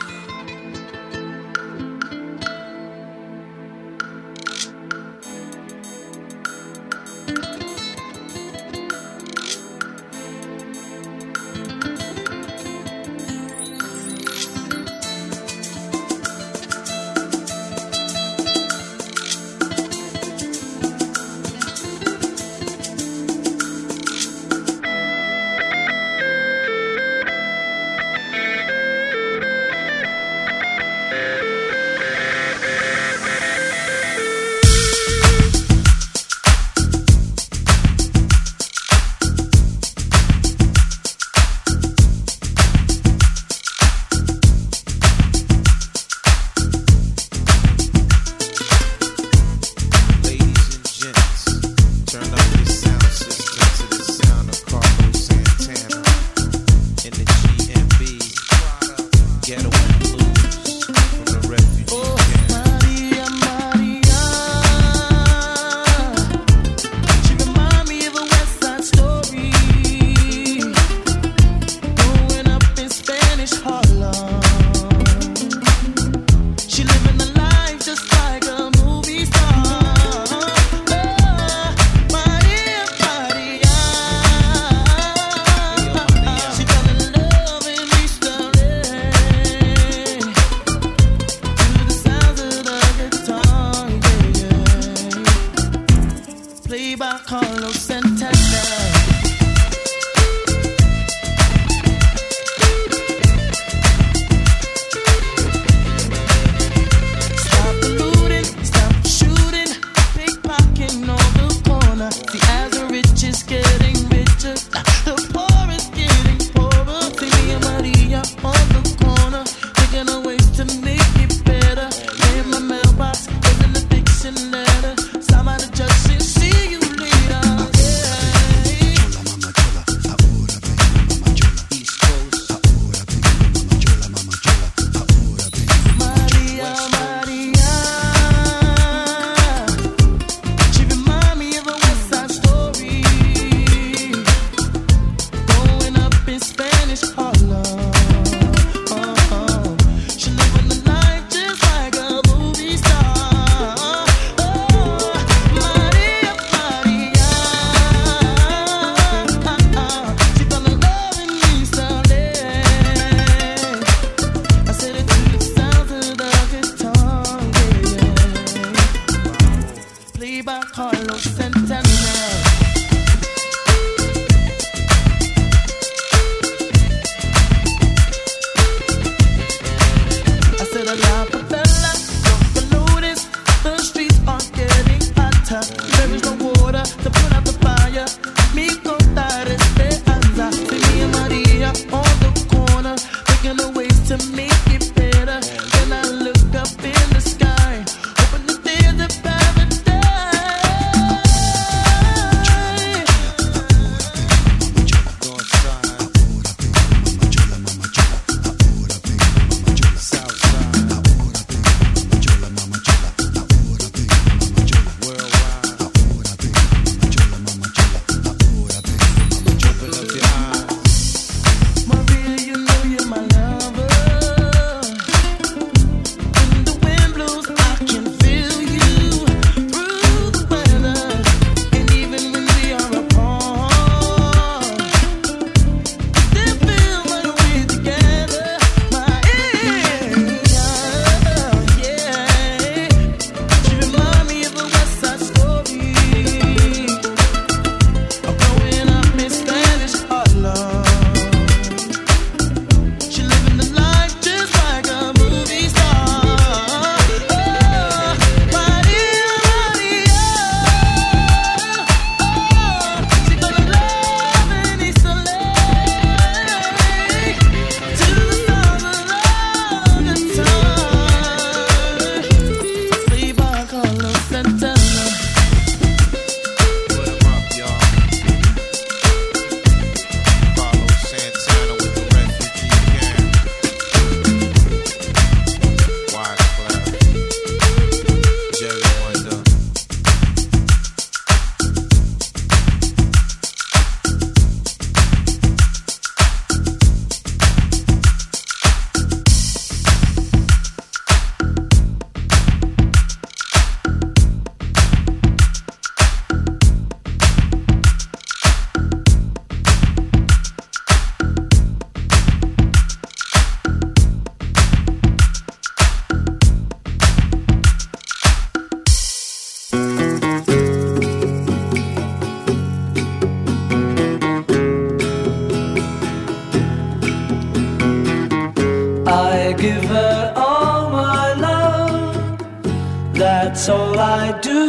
give her all my love, that's all I do.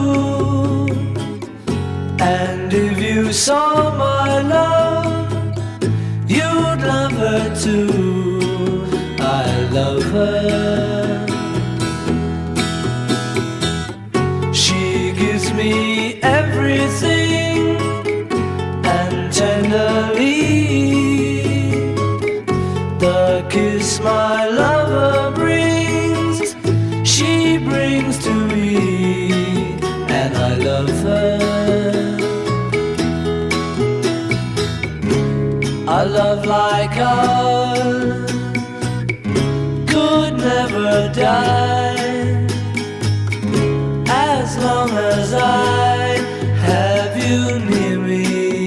And if you saw my love, you'd love her too. I love her. She gives me everything, and tenderly the kiss my lover brings, she brings to me, and I love her. A love like ours could never die, as long as I have you near me.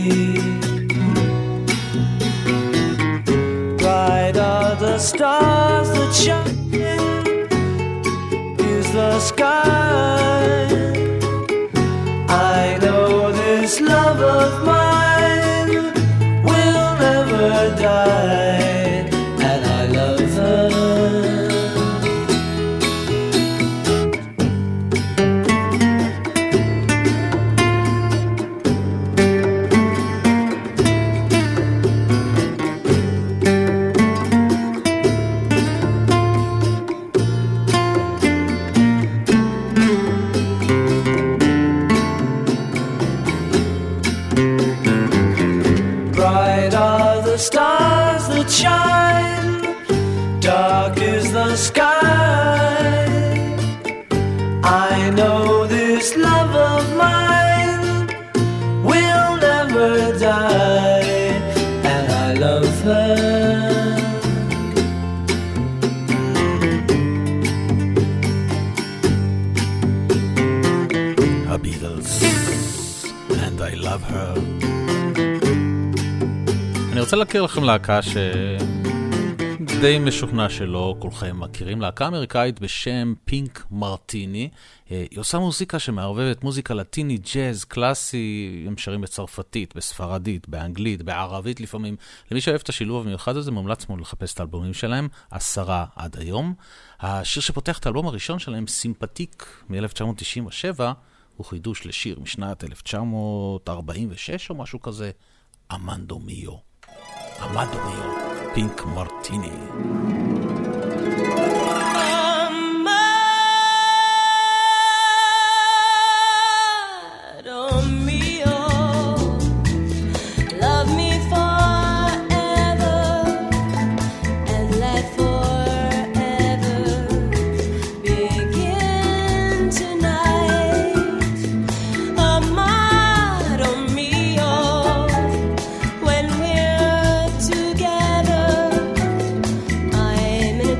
Bright are the stars that shine, is the sky. I know this love of mine will never die, and I love her. Stars that shine, dark is the sky. I know this love of mine will never die, and I love her. The Beatles, and I love her. אני רוצה להכיר לכם להקה שדי משוכנע שלא כולכם מכירים, להקה אמריקאית בשם פינק מרטיני. היא עושה מוזיקה שמערבבת מוזיקה לטיני, ג'אז, קלאסי, הם שרים בצרפתית, בספרדית, באנגלית, בערבית לפעמים. למי שאוהב את השילוב המיוחד הזה, מומלץ מאוד לחפש את האלבומים שלהם, 10 עד היום. השיר שפותח את האלבום הראשון שלהם, סימפתיק, מ-1997, הוא חידוש לשיר משנת 1946 או משהו כזה, אמנדו מיו. Amado mio, Pink Martini. Amado mio, love me forever and let forever begin tonight. Amado mio, when we're together, I'm in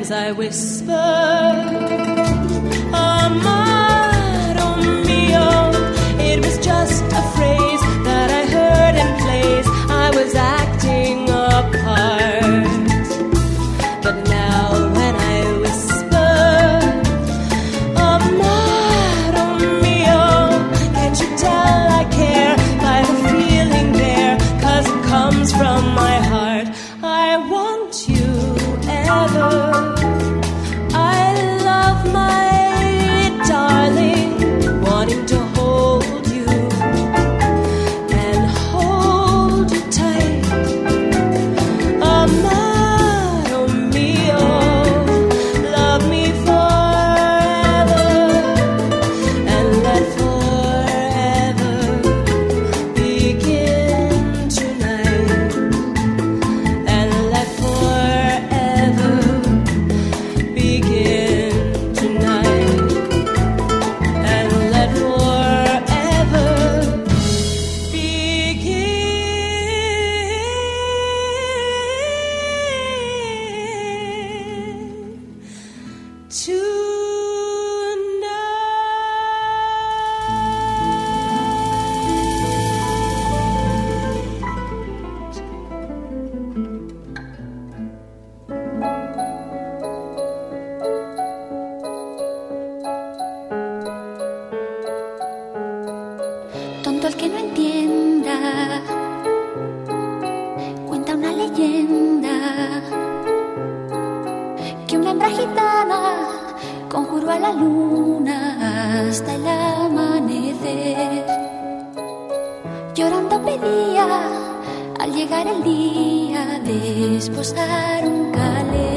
as I whisper, amaro mio. It was just a phrase that I heard in plays. I was acting a part, but now when I whisper, amaro mio, can't you tell I care by the feeling there? 'Cause it comes from my heart. I want you ever. I love my darling, wanting to hold you and hold you tight. Amaro mio, love me forever and let forever begin tonight. And let forever begin tonight. And let forever begin Tonto el que no entienda, cuenta una leyenda que una hembra gitana conjuró a la luna hasta el amanecer. Llorando pedía al llegar el día de esposar un calé.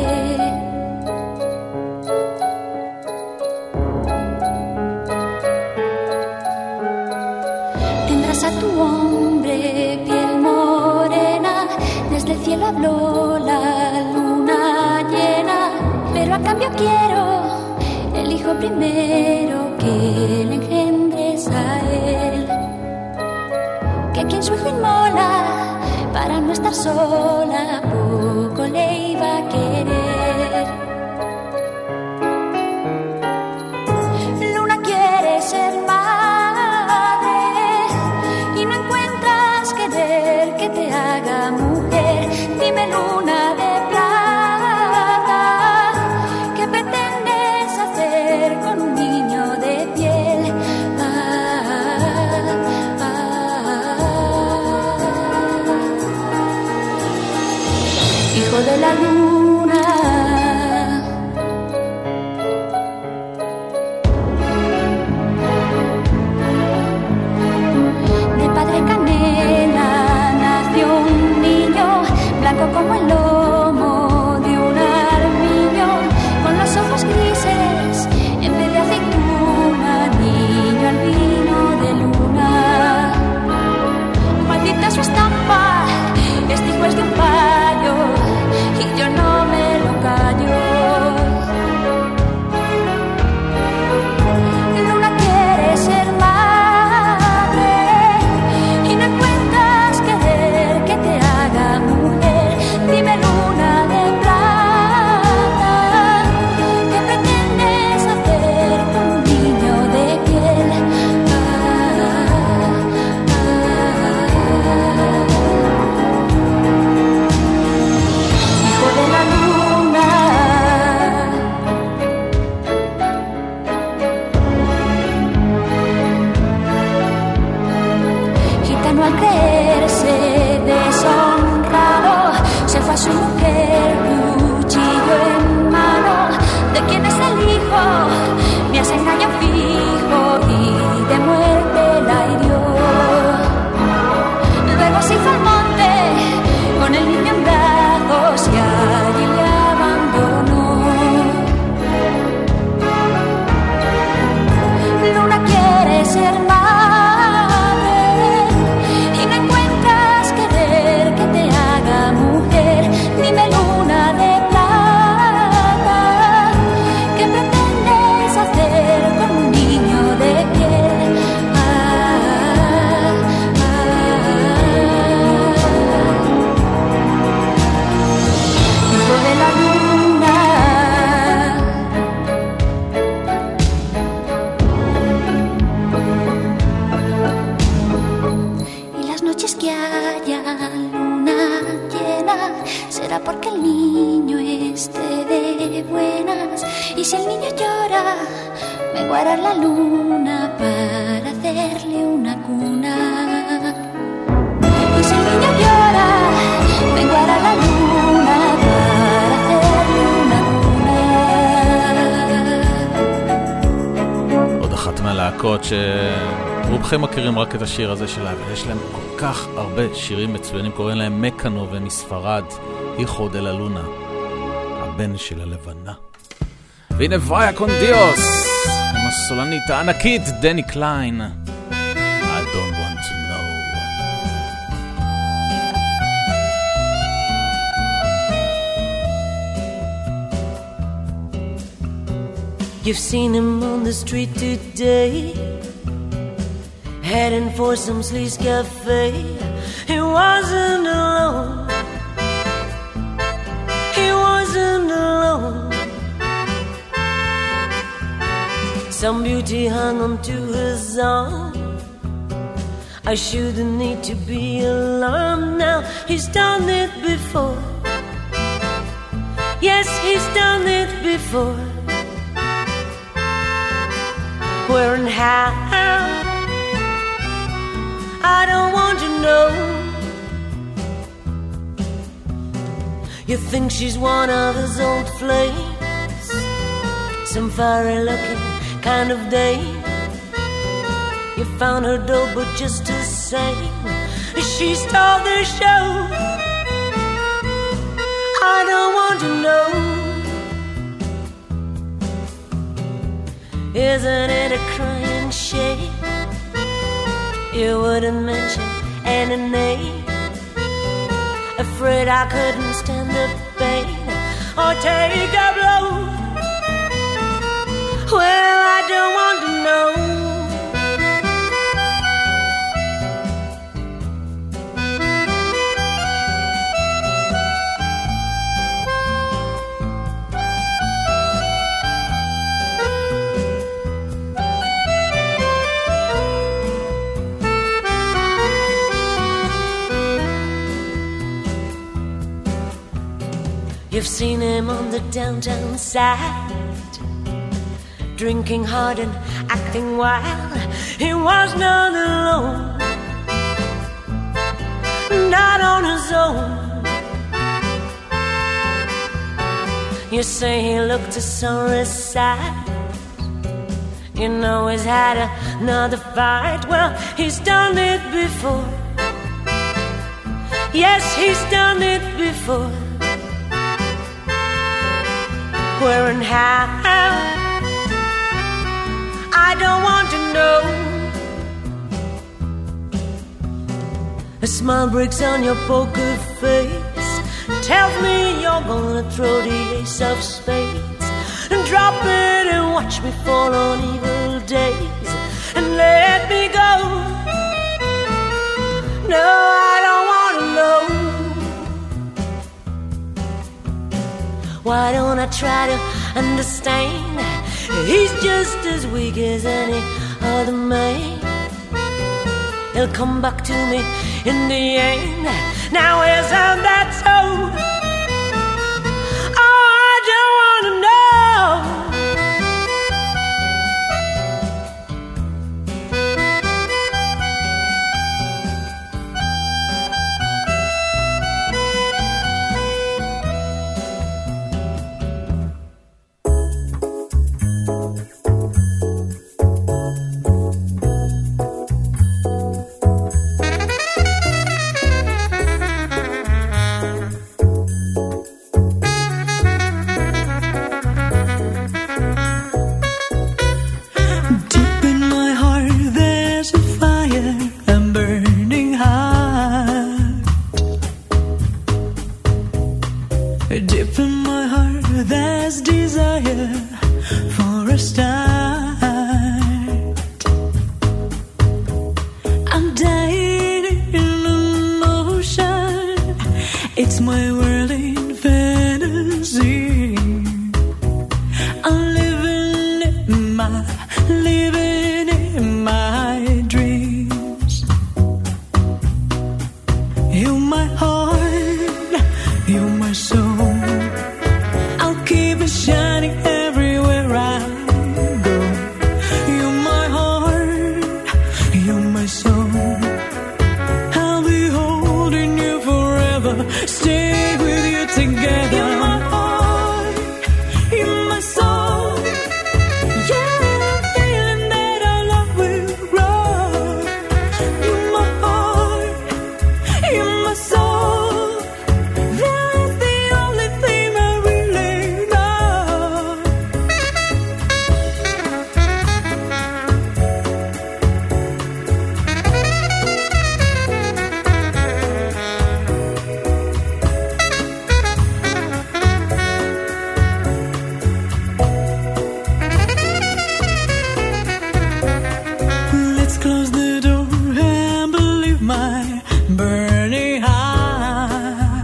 Tendrás a tu hombre piel morena, desde el cielo habló la luna llena, pero a cambio quiero el hijo primero que le engendres a él. Que quien su hijo inmola para no estar sola, poco le iba a querer. Luna quiere ser madre y no encuentras querer que te haga mujer. Dime, luna de plata, ¿qué pretendes hacer con un niño de piel? Hijo de la luna, de padre canela nació un niño, blanco como el lomo de un armiño, con los ojos grises en vez de aceituna, niño albino de luna. Maldita su estampa, este hijo es de un payo y yo no me lo callo. Luna quiere ser madre y no encuentras querer que te haga mujer. Dime, luna de plata, ¿qué pretendes hacer con un niño de piel? Hijo de la luna, gitano al creerse deshonrado, se fue a su mujer, cuchillo en mano. ¿De quién es el hijo? Me has engañado fijo y de muerte la hirió. Luego se hizo al monte con el niño en brazos y allí le abandonó. Luna quiere ser madre y no encuentra noches que haya luna llena será porque el niño esté de buenas. Y si el niño llora, menguará la luna para hacerle una cuna. Y si el niño llora, menguará la luna para hacerle una cuna. עוד אחת מהלהקות רובכם מכירים רק את השיר הזה שלה, אבל יש להם כל כך הרבה שירים מצוינים, קוראים להם מקאנו ומספרד, היכו דה לה לונה, הבן של הלבנה. והנה ויה קון דיוס, עם הסולנית הענקית דני קליין. I don't want to know. You've seen him on the street today, heading for some sleaze cafe. He wasn't alone. He wasn't alone. Some beauty hung onto his arm. I shouldn't need to be alarmed now. He's done it before. Yes, he's done it before. Where and how? I don't want to know. You think she's one of his old flames, some fiery looking kind of dame. You found her dull but just the same, she stole the show. I don't want to know. Isn't it a crying shame you wouldn't mention any name? Afraid I couldn't stand the pain or take the blow. Well, I don't want to know. You've seen him on the downtown side, drinking hard and acting wild. He was not alone, not on his own. You say he looked a sorry sight. You know he's had another fight. Well, he's done it before. Yes, he's done it before. Where and how? I don't want to know. A smile breaks on your poker face, tells me you're gonna throw the ace of spades and drop it and watch me fall on evil days and let me go. No, I don't want to know. Why don't I try to understand? He's just as weak as any other man. He'll come back to me in the end. Now isn't that so? Oh, I don't want to know. my heart, you're my soul. I'll keep it shining everywhere I go. You're my heart, you're my soul. I'll be holding you forever, stay with you together. You're my heart, you're my soul. Yeah, I'm feeling that our love will grow. You're my heart, you're my soul. That's the only thing I really know. Let's close the door and believe my burning heart.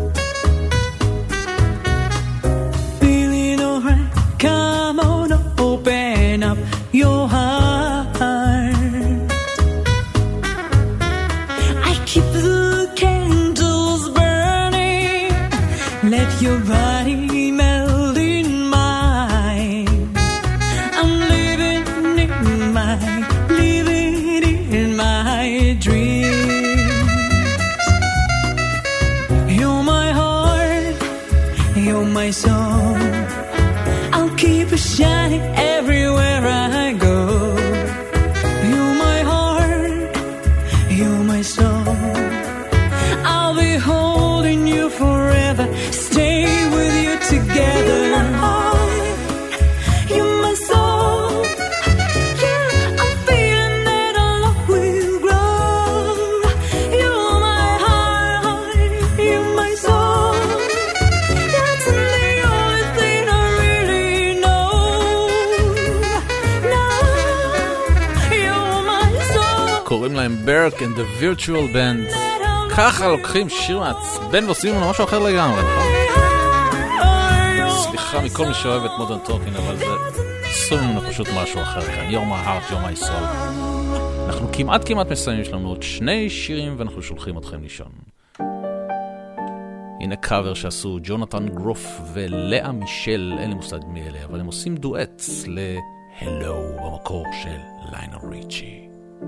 Feeling alright, come on, open up your heart. I keep the candles burning, let your body melt in mine. I'm living in my dreams. You're my heart, you're my soul. I'll keep it shining everywhere I go. You're my heart, you're my soul. I'll be holding you forever, stay with you together. You're my heart, you're my soul. Yeah, I'm feeling that our love will grow. You're my heart, you're my soul. That's the only thing I really know. No, you're my soul. קוראים להם ברק and the virtual band. ככה לוקחים שיר מעצבן ועושים לנו משהו אחר לגמרי, נכון? סליחה מכל מי שאוהב את מודרן טוקינג, אבל זה עושים לנו פשוט משהו אחר כאן. You're my heart, you're my soul. אנחנו כמעט מסיימים, יש לנו עוד 2 שירים ואנחנו שולחים אתכם לישון. הנה קאבר שעשו ג'ונתן גרוף ולאה מישל, אין לי מושג מי אלה, אבל הם עושים דואט ל-Hello במקור של ליונל ריצ'י.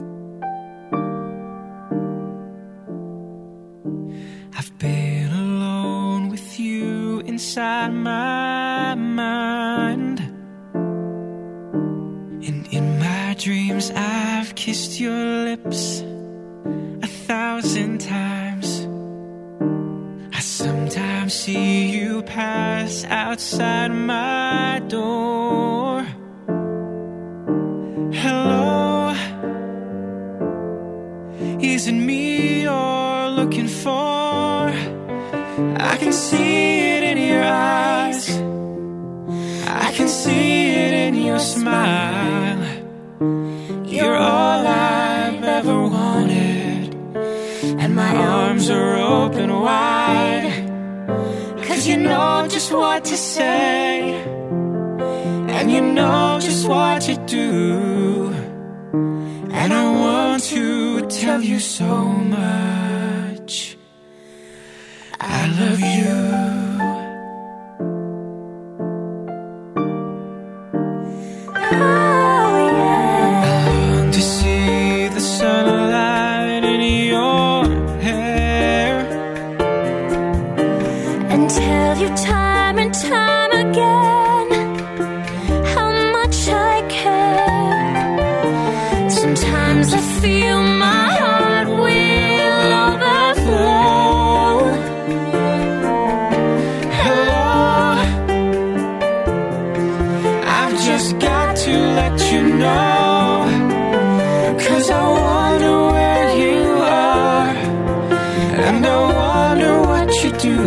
I've been alone with you inside my mind, and in my dreams I've kissed your lips 1,000 times. I sometimes see you pass outside my door. Hello, is it me you're looking for? I can see it in your eyes, I can see it in your smile. You're all I've ever wanted, and my arms are open wide. 'Cause you know just what to say, and you know just what to do. And I want to tell you so much. I love you. Oh, yeah. I long to see the sunlight in your hair, And tell you time and time again how much I care. Sometimes I feel my heart will overflow. hello. I've just got to let you know, 'cause I wonder where you are, and I wonder what you do.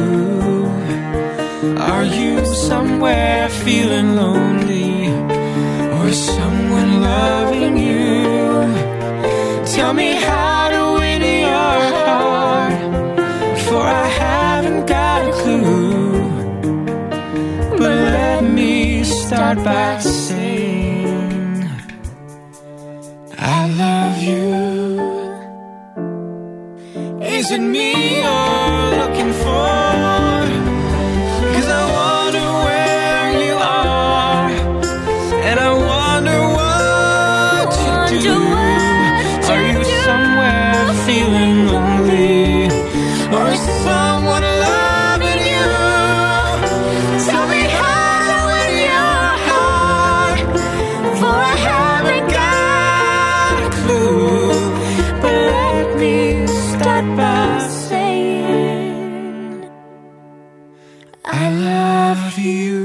Are you somewhere feeling lonely, or is someone loving you? Tell me how to win your heart, for I haven't got a clue. But let me start by saying I love you. Is it me you're looking for? 'Cause I wonder where you are, and I wonder what you do. Are you somewhere feeling lonely, or is someone loving you? Tell me how in your heart, for I haven't got a clue. But let me start by saying I love you.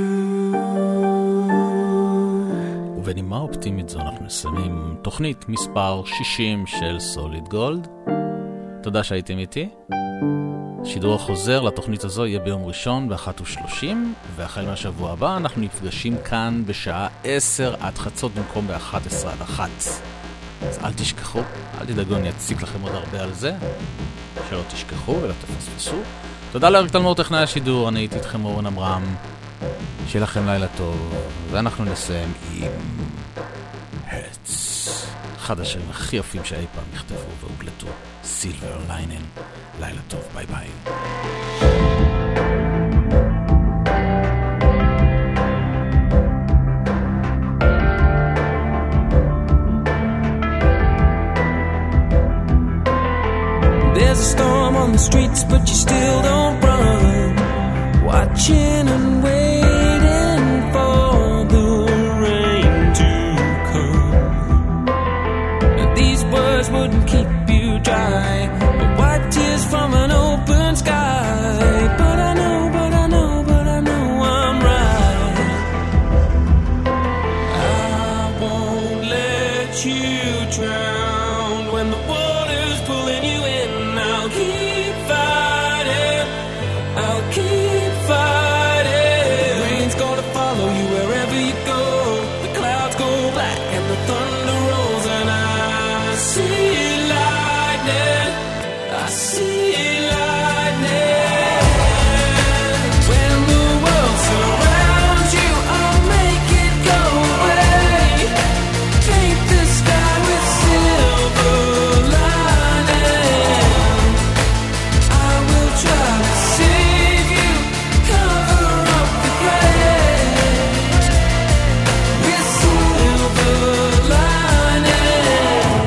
ובנימה אופטימית זו אנחנו מסיימים תוכנית מספר 60 של סוליד גולד. תודה שהייתם איתי. שידור החוזר לתוכנית הזו יהיה ביום ראשון ב-1:30, והחל מהשבוע הבא אנחנו נפגשים כאן בשעה 10 עד חצות במקום ב-11 עד 1. אז אל תשכחו, אל תדאגו, אני אציק לכם עוד הרבה על זה, שלא תשכחו ולא תפספסו. תודה לאריק תלמור טכנאי השידור, אני הייתי איתכם אורן אמרם, שיהיה לכם לילה טוב, ואנחנו נסיים עם הרץ, אחד השירים הכי יפים שאי פעם נכתבו והוגלטו, סילבר ליינן. לילה טוב, ביי ביי. There's a storm on the streets, but you still don't run. Watching and waiting for the rain to come. But these words wouldn't keep you dry, but white tears from an open sky. But I know I'm right. I won't let you drown when the water's pulling you in. I'll keep fighting, I'll keep fighting. Rain's gonna follow you wherever you go. The clouds go black and the thunder rolls, and I see lightning, I see lightning. When the world surrounds you, I'll make it go away. Paint the sky with silver lining. I will try to save you, cover up the gray with silver lining.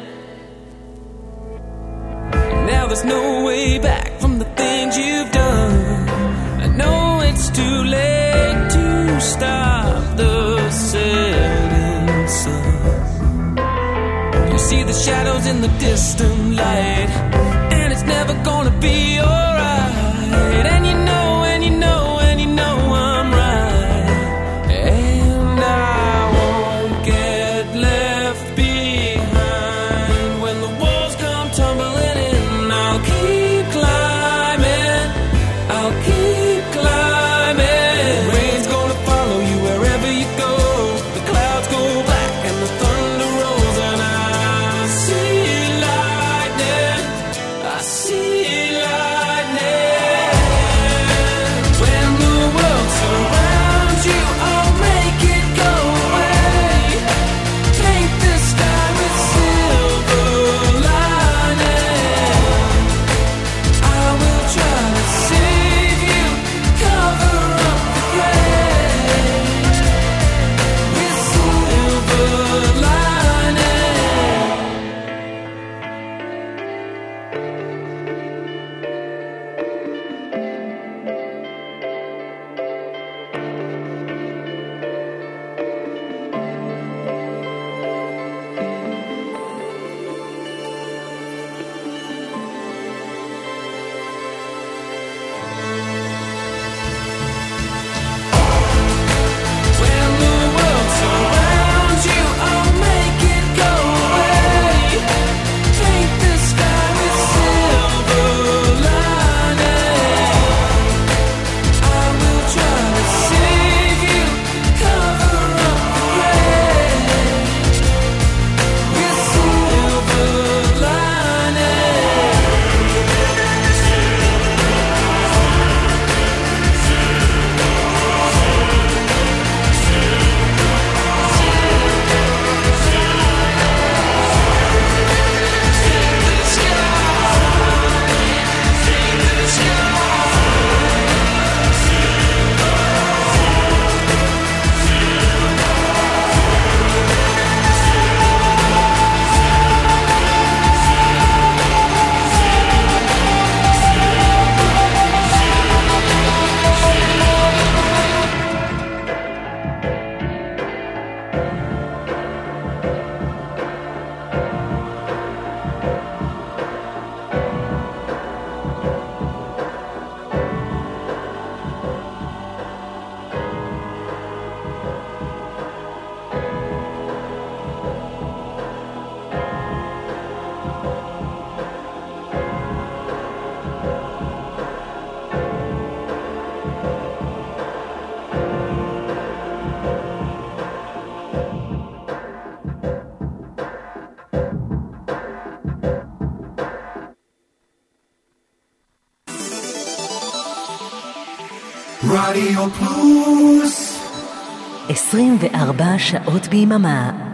Now there's no way back from the things you've done. I know it's too late to stop the setting sun. You see the shadows in the distant light, and it's never gonna be alright. And you know I'm right. And I won't get left behind when the walls come tumbling in. I'll keep climbing, I'll keep climbing. Rain's gonna follow you wherever you go. The clouds go black and the thunder rolls, and I see lightning, I see lightning. When the world surrounds you, I'll make it go away. Paint the sky with silver lining. I will try to save you, cover up the gray with silver lining. רדיו פלוס 24 שעות ביממה.